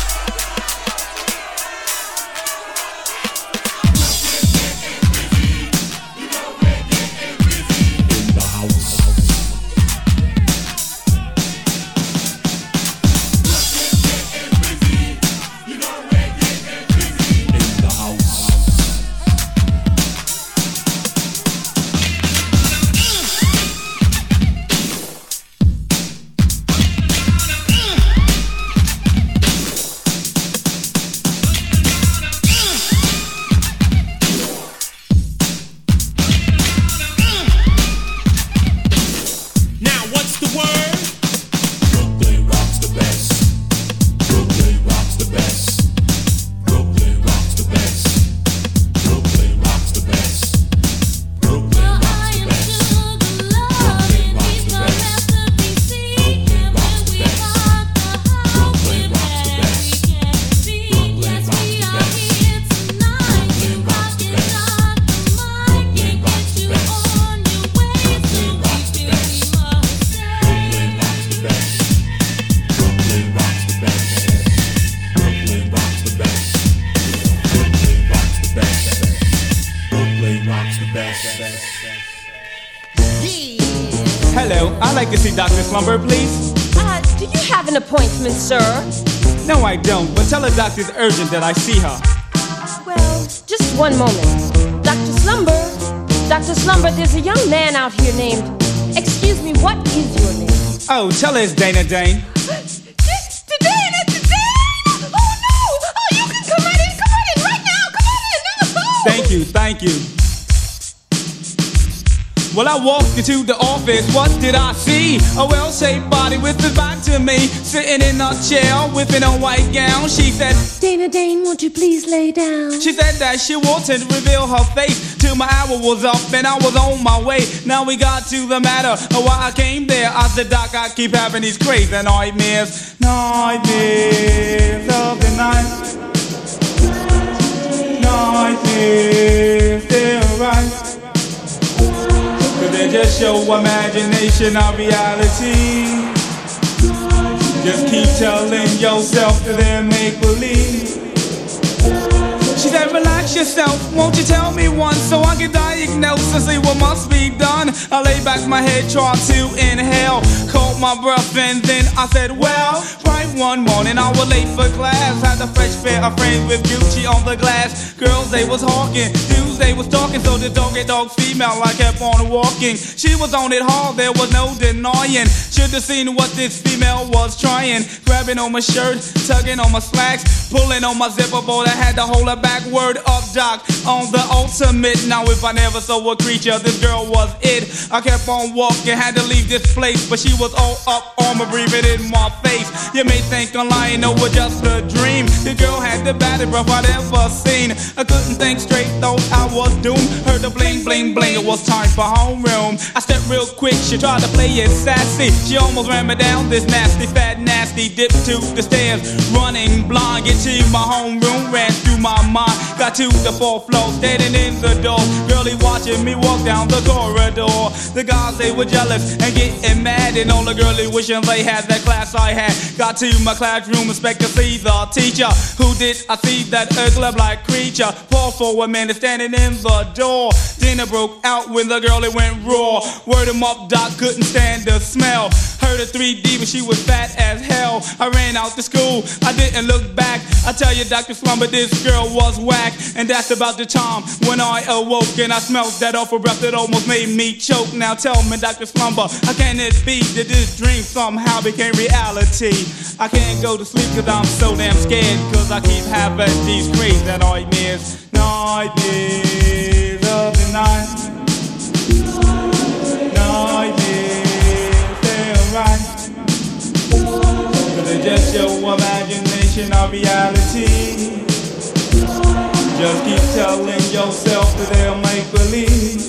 Hello, I'd like to see Doctor Slumber, please. Uh, do you have an appointment, sir? No, I don't, but tell the doctor's urgent that I see her. Well, just one moment. Doctor Slumber, Doctor Slumber, there's a young man out here named... Excuse me, what is your name? Oh, tell her it's Dana Dane. Dana Dane! Oh no! Oh, you can come right in, come right in right Thank you. Well, I walked into the office, what did I see? A well-shaped body with his back to me, sitting in a chair with an old white gown. She said, Dana Dane, won't you please lay down? She said that she wanted to reveal her face till my hour was up and I was on my way. Now we got to the matter of why I came there. I said, Doc, I keep having these crazy nightmares. Nightmares of the night. Nightmares, they're right. Cause they just show imagination of reality. Just keep telling yourself that they're make-believe. She said, relax yourself, won't you tell me once so I can diagnose and see what must be done. I lay back my head, tried to inhale, caught my breath and then I said, well, right one morning I was late for class. Had a fresh pair of frames with Gucci on the glass. Girls, they was hawking, dudes, they was talking. So the dog get dog female, I kept on walking. She was on it hard, there was no denying. Should've seen what this female was trying. Grabbing on my shirt, tugging on my slacks, pulling on my zipper board, I had to hold her back. Word up, Doc, on the ultimate. Now if I never saw a creature, this girl was it. I kept on walking, had to leave this place, but she was all up on me, breathing in my face. You may think I'm lying, no, it was just a dream. The girl had the baddest breath I'd ever seen. I couldn't think straight, thought I was doomed. Heard the bling, bling, bling, it was time for homeroom. I stepped real quick, she tried to play it sassy. She almost ran me down this nasty, fat, nasty. Dipped to the stairs, running blind. Get to my homeroom, ran through my mind. Got to the fourth floor, standing in the door. Girlie watching me walk down the corridor. The guys, they were jealous and getting mad, and all the girlie wishing they had that class I had. Got to my classroom, expect to see the teacher. Who did I see that ugly black creature? Paused for a minute, standing in the door. Dinner broke out when the girlie went raw. Word him up, Doc, couldn't stand the smell. Heard a three D, but she was fat as hell. I ran out to school, I didn't look back. I tell you, Doctor Slumber, this girl was whack. And that's about the time when I awoke and I smelled that awful breath that almost made me choke. Now tell me, Doctor Slumber, how can it be that this dream somehow became reality? I can't go to sleep cause I'm so damn scared, cause I keep having these crazy nightmares. Nightmares of the night. Nightmares, they're right. Cause they just show imagination of reality. Just keep telling yourself that they'll make believe.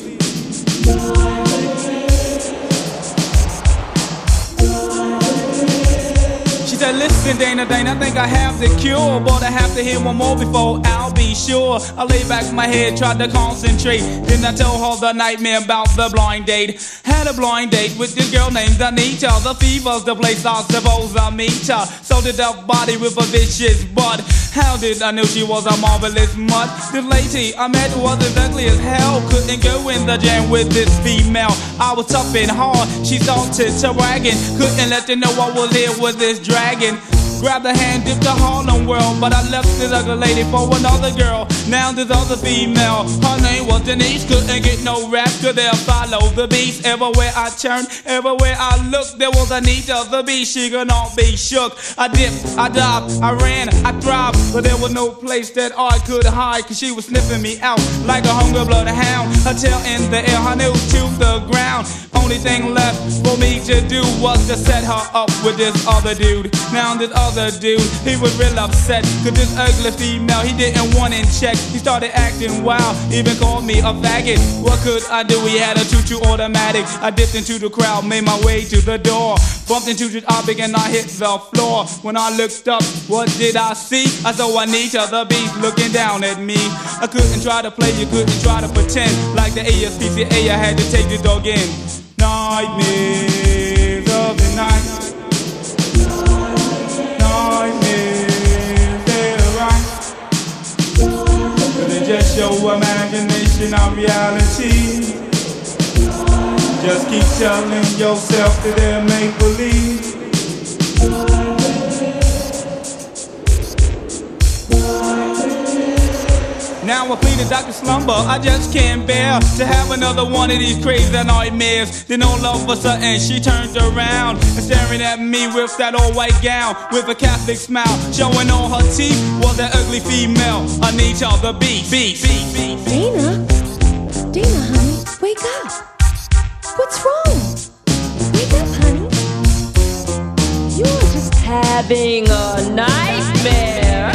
She said, listen, Dana, Dana, I think I have the cure, but I have to hear one more before I'll be sure. I lay back my head, tried to concentrate. Then I told her the nightmare about the blind date. Had a blind date with this girl named Anita. The fever's the place I suppose I meet her. So did a body with a vicious butt. How did I know she was a marvelous mutt? This lady I met was as ugly as hell. Couldn't go in the jam with this female. I was tough and hard, she started to bragging. Couldn't let her know I was here with this dragon. Grabbed her hand, dipped the Harlem World, but I left this ugly lady for another girl. Now this other female, her name was Denise. Couldn't get no rap, could they follow the beast? Everywhere I turned, everywhere I looked, there was Anita the beast. She could not be shook. I dipped, I dived, I ran, I thrived, but there was no place that I could hide, cause she was sniffing me out like a hungry bloodhound. Her tail in the air, her nose to the ground. Only thing left for me to do was to set her up with this other dude. Now this other dude, he was real upset, cause this ugly female, he didn't want in check. He started acting wild, even called me a faggot. What could I do? He had a two-two automatic. I dipped into the crowd, made my way to the door, bumped into the object and I hit the floor. When I looked up, what did I see? I saw Anita the beast looking down at me. I couldn't try to play, you couldn't try to pretend. Like the A S P C A, I had to take the dog in. Nightmares of the night. Nightmares, they're right. Cause they just show imagination of reality. Just keep telling yourself that they'll make believe. Now I plead to Doctor Slumber, I just can't bear to have another one of these crazy nightmares. Then all of a sudden she turns around and staring at me with that old white gown with a Catholic smile, showing all her teeth was that ugly female. I need y'all the beat, beat, beat, beat. Dana, Dana, honey, wake up. What's wrong? Wake up, honey. You're just having a nightmare.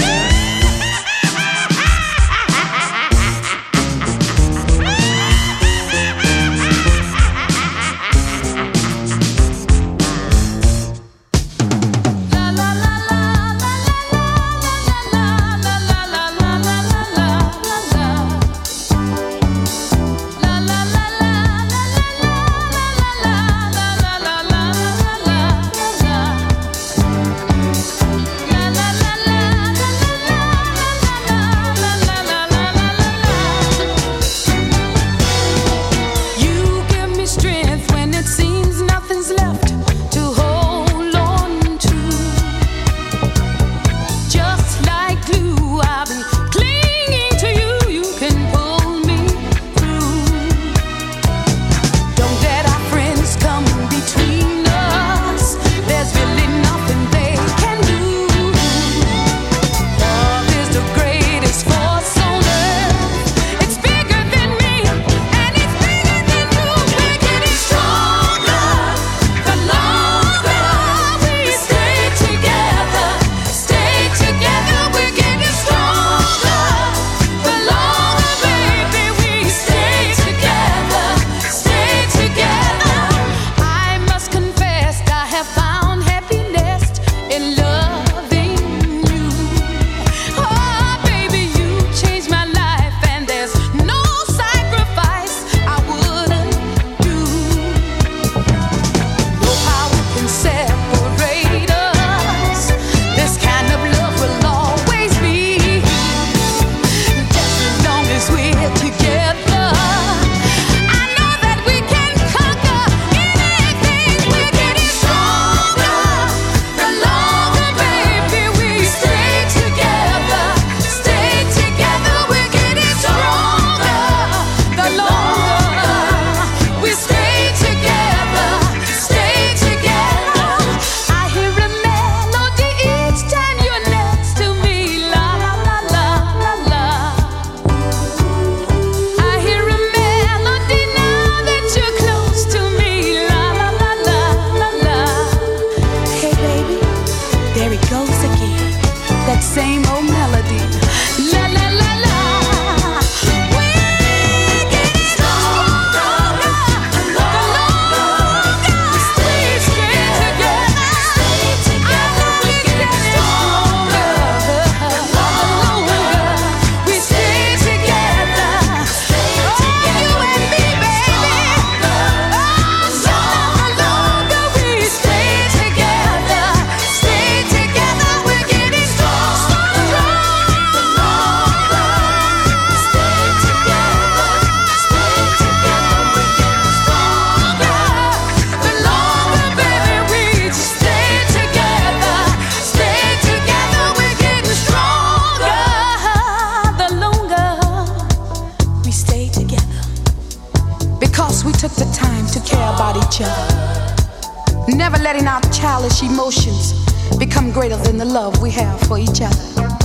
Never letting our childish emotions become greater than the love we have for each other.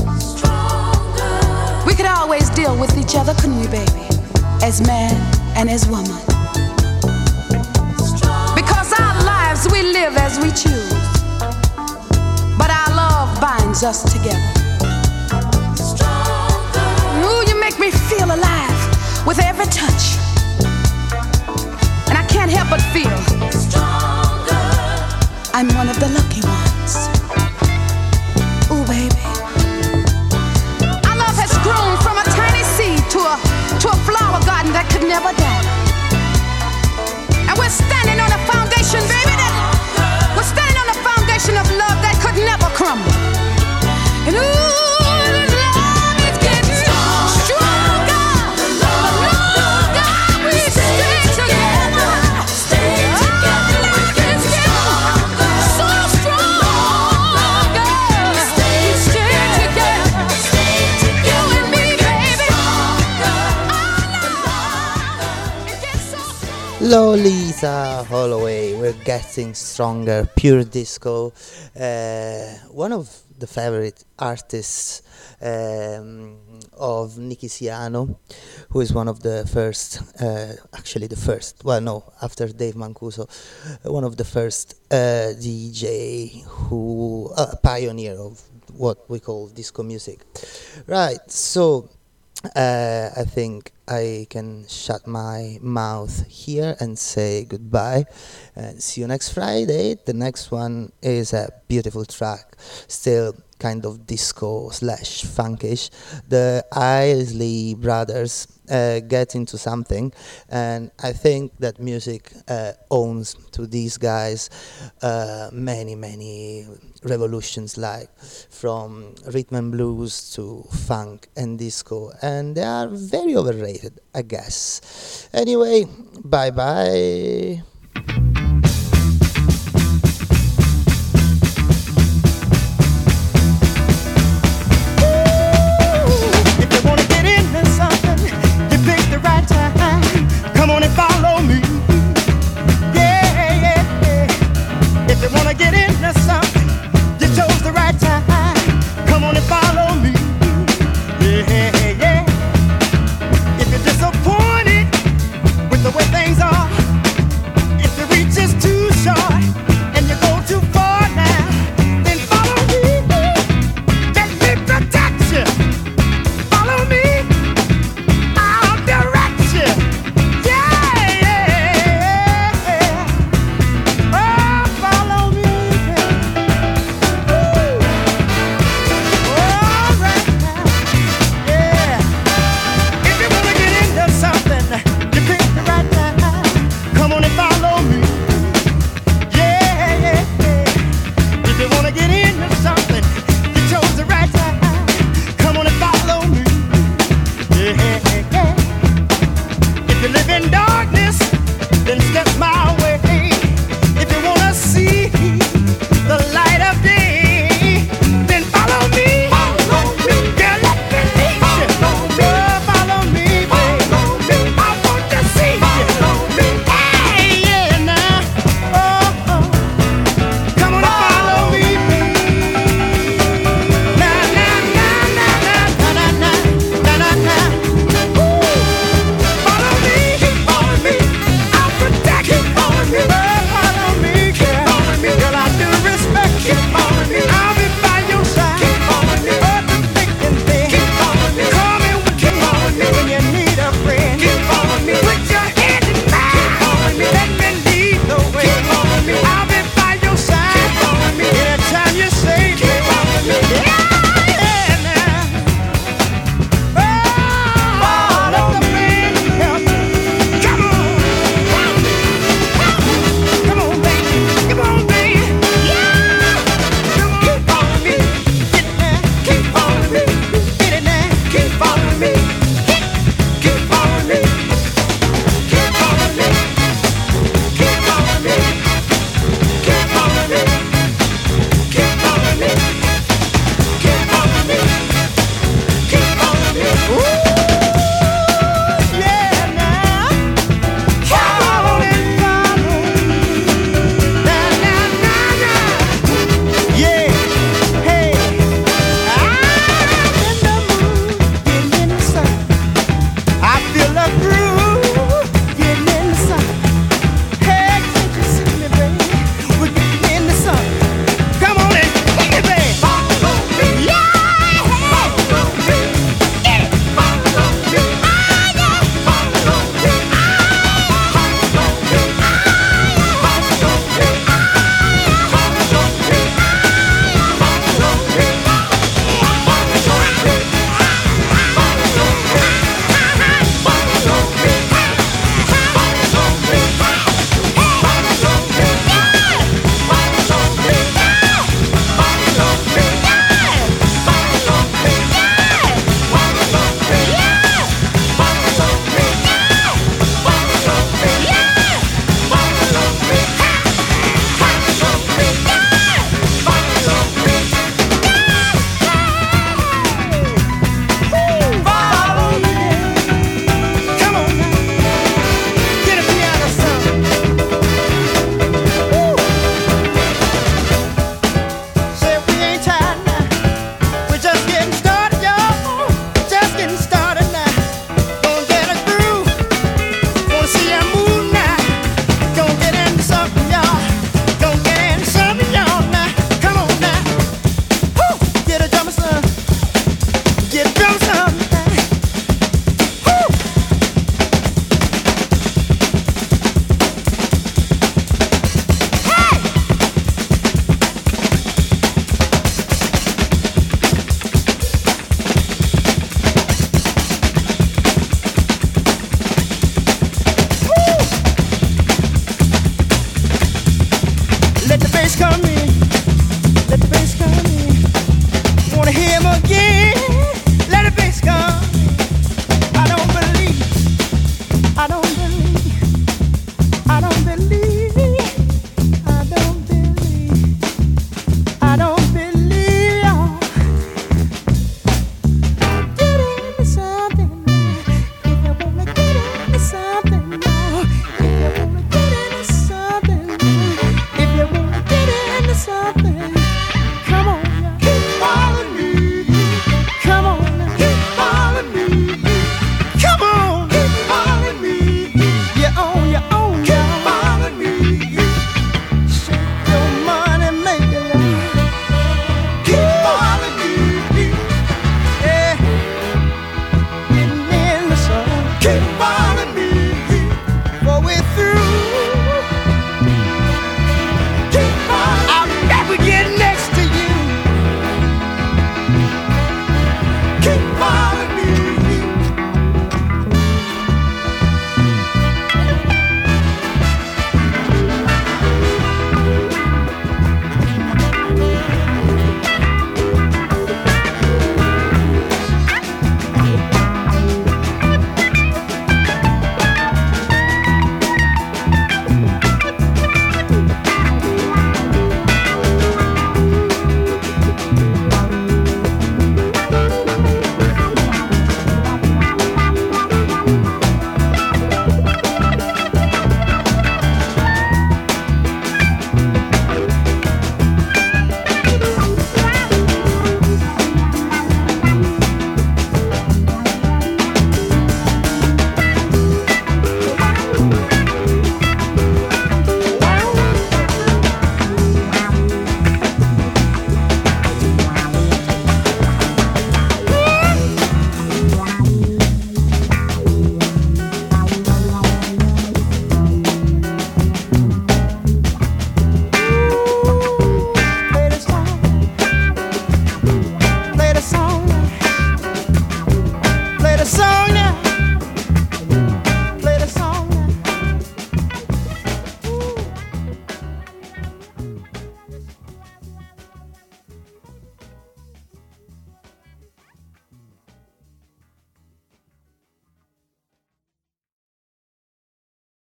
We could always deal with each other, couldn't we, baby? As man and as woman. Because our lives we live as we choose, but our love binds us together. Ooh, you make me feel alive with every touch, and I can't help but feel I'm one of the lucky ones. Ooh, baby. Our love has grown from a tiny seed to a to a flower garden that could never die. And we're standing on a foundation, baby, that we're standing on a foundation of love that could never crumble. And ooh, this love is getting stronger. The longer we stay together, stay together, we get stronger. So stronger. Stay, stay Lolita Holloway, we're getting stronger, pure disco. Uh, one of the favorite artists um, of Nicky Siano, who is one of the first, uh, actually the first, well no, after Dave Mancuso, uh, one of the first uh, D J who, uh, a pioneer of what we call disco music. Right, so uh, I think I can shut my mouth here and say goodbye and see you next Friday. The next one is a beautiful track, still kind of disco slash funkish. The Isley Brothers uh, get into something, and I think that music uh, owns to these guys uh, many many revolutions, like from rhythm and blues to funk and disco, and they are very overrated, I guess. Anyway, bye bye.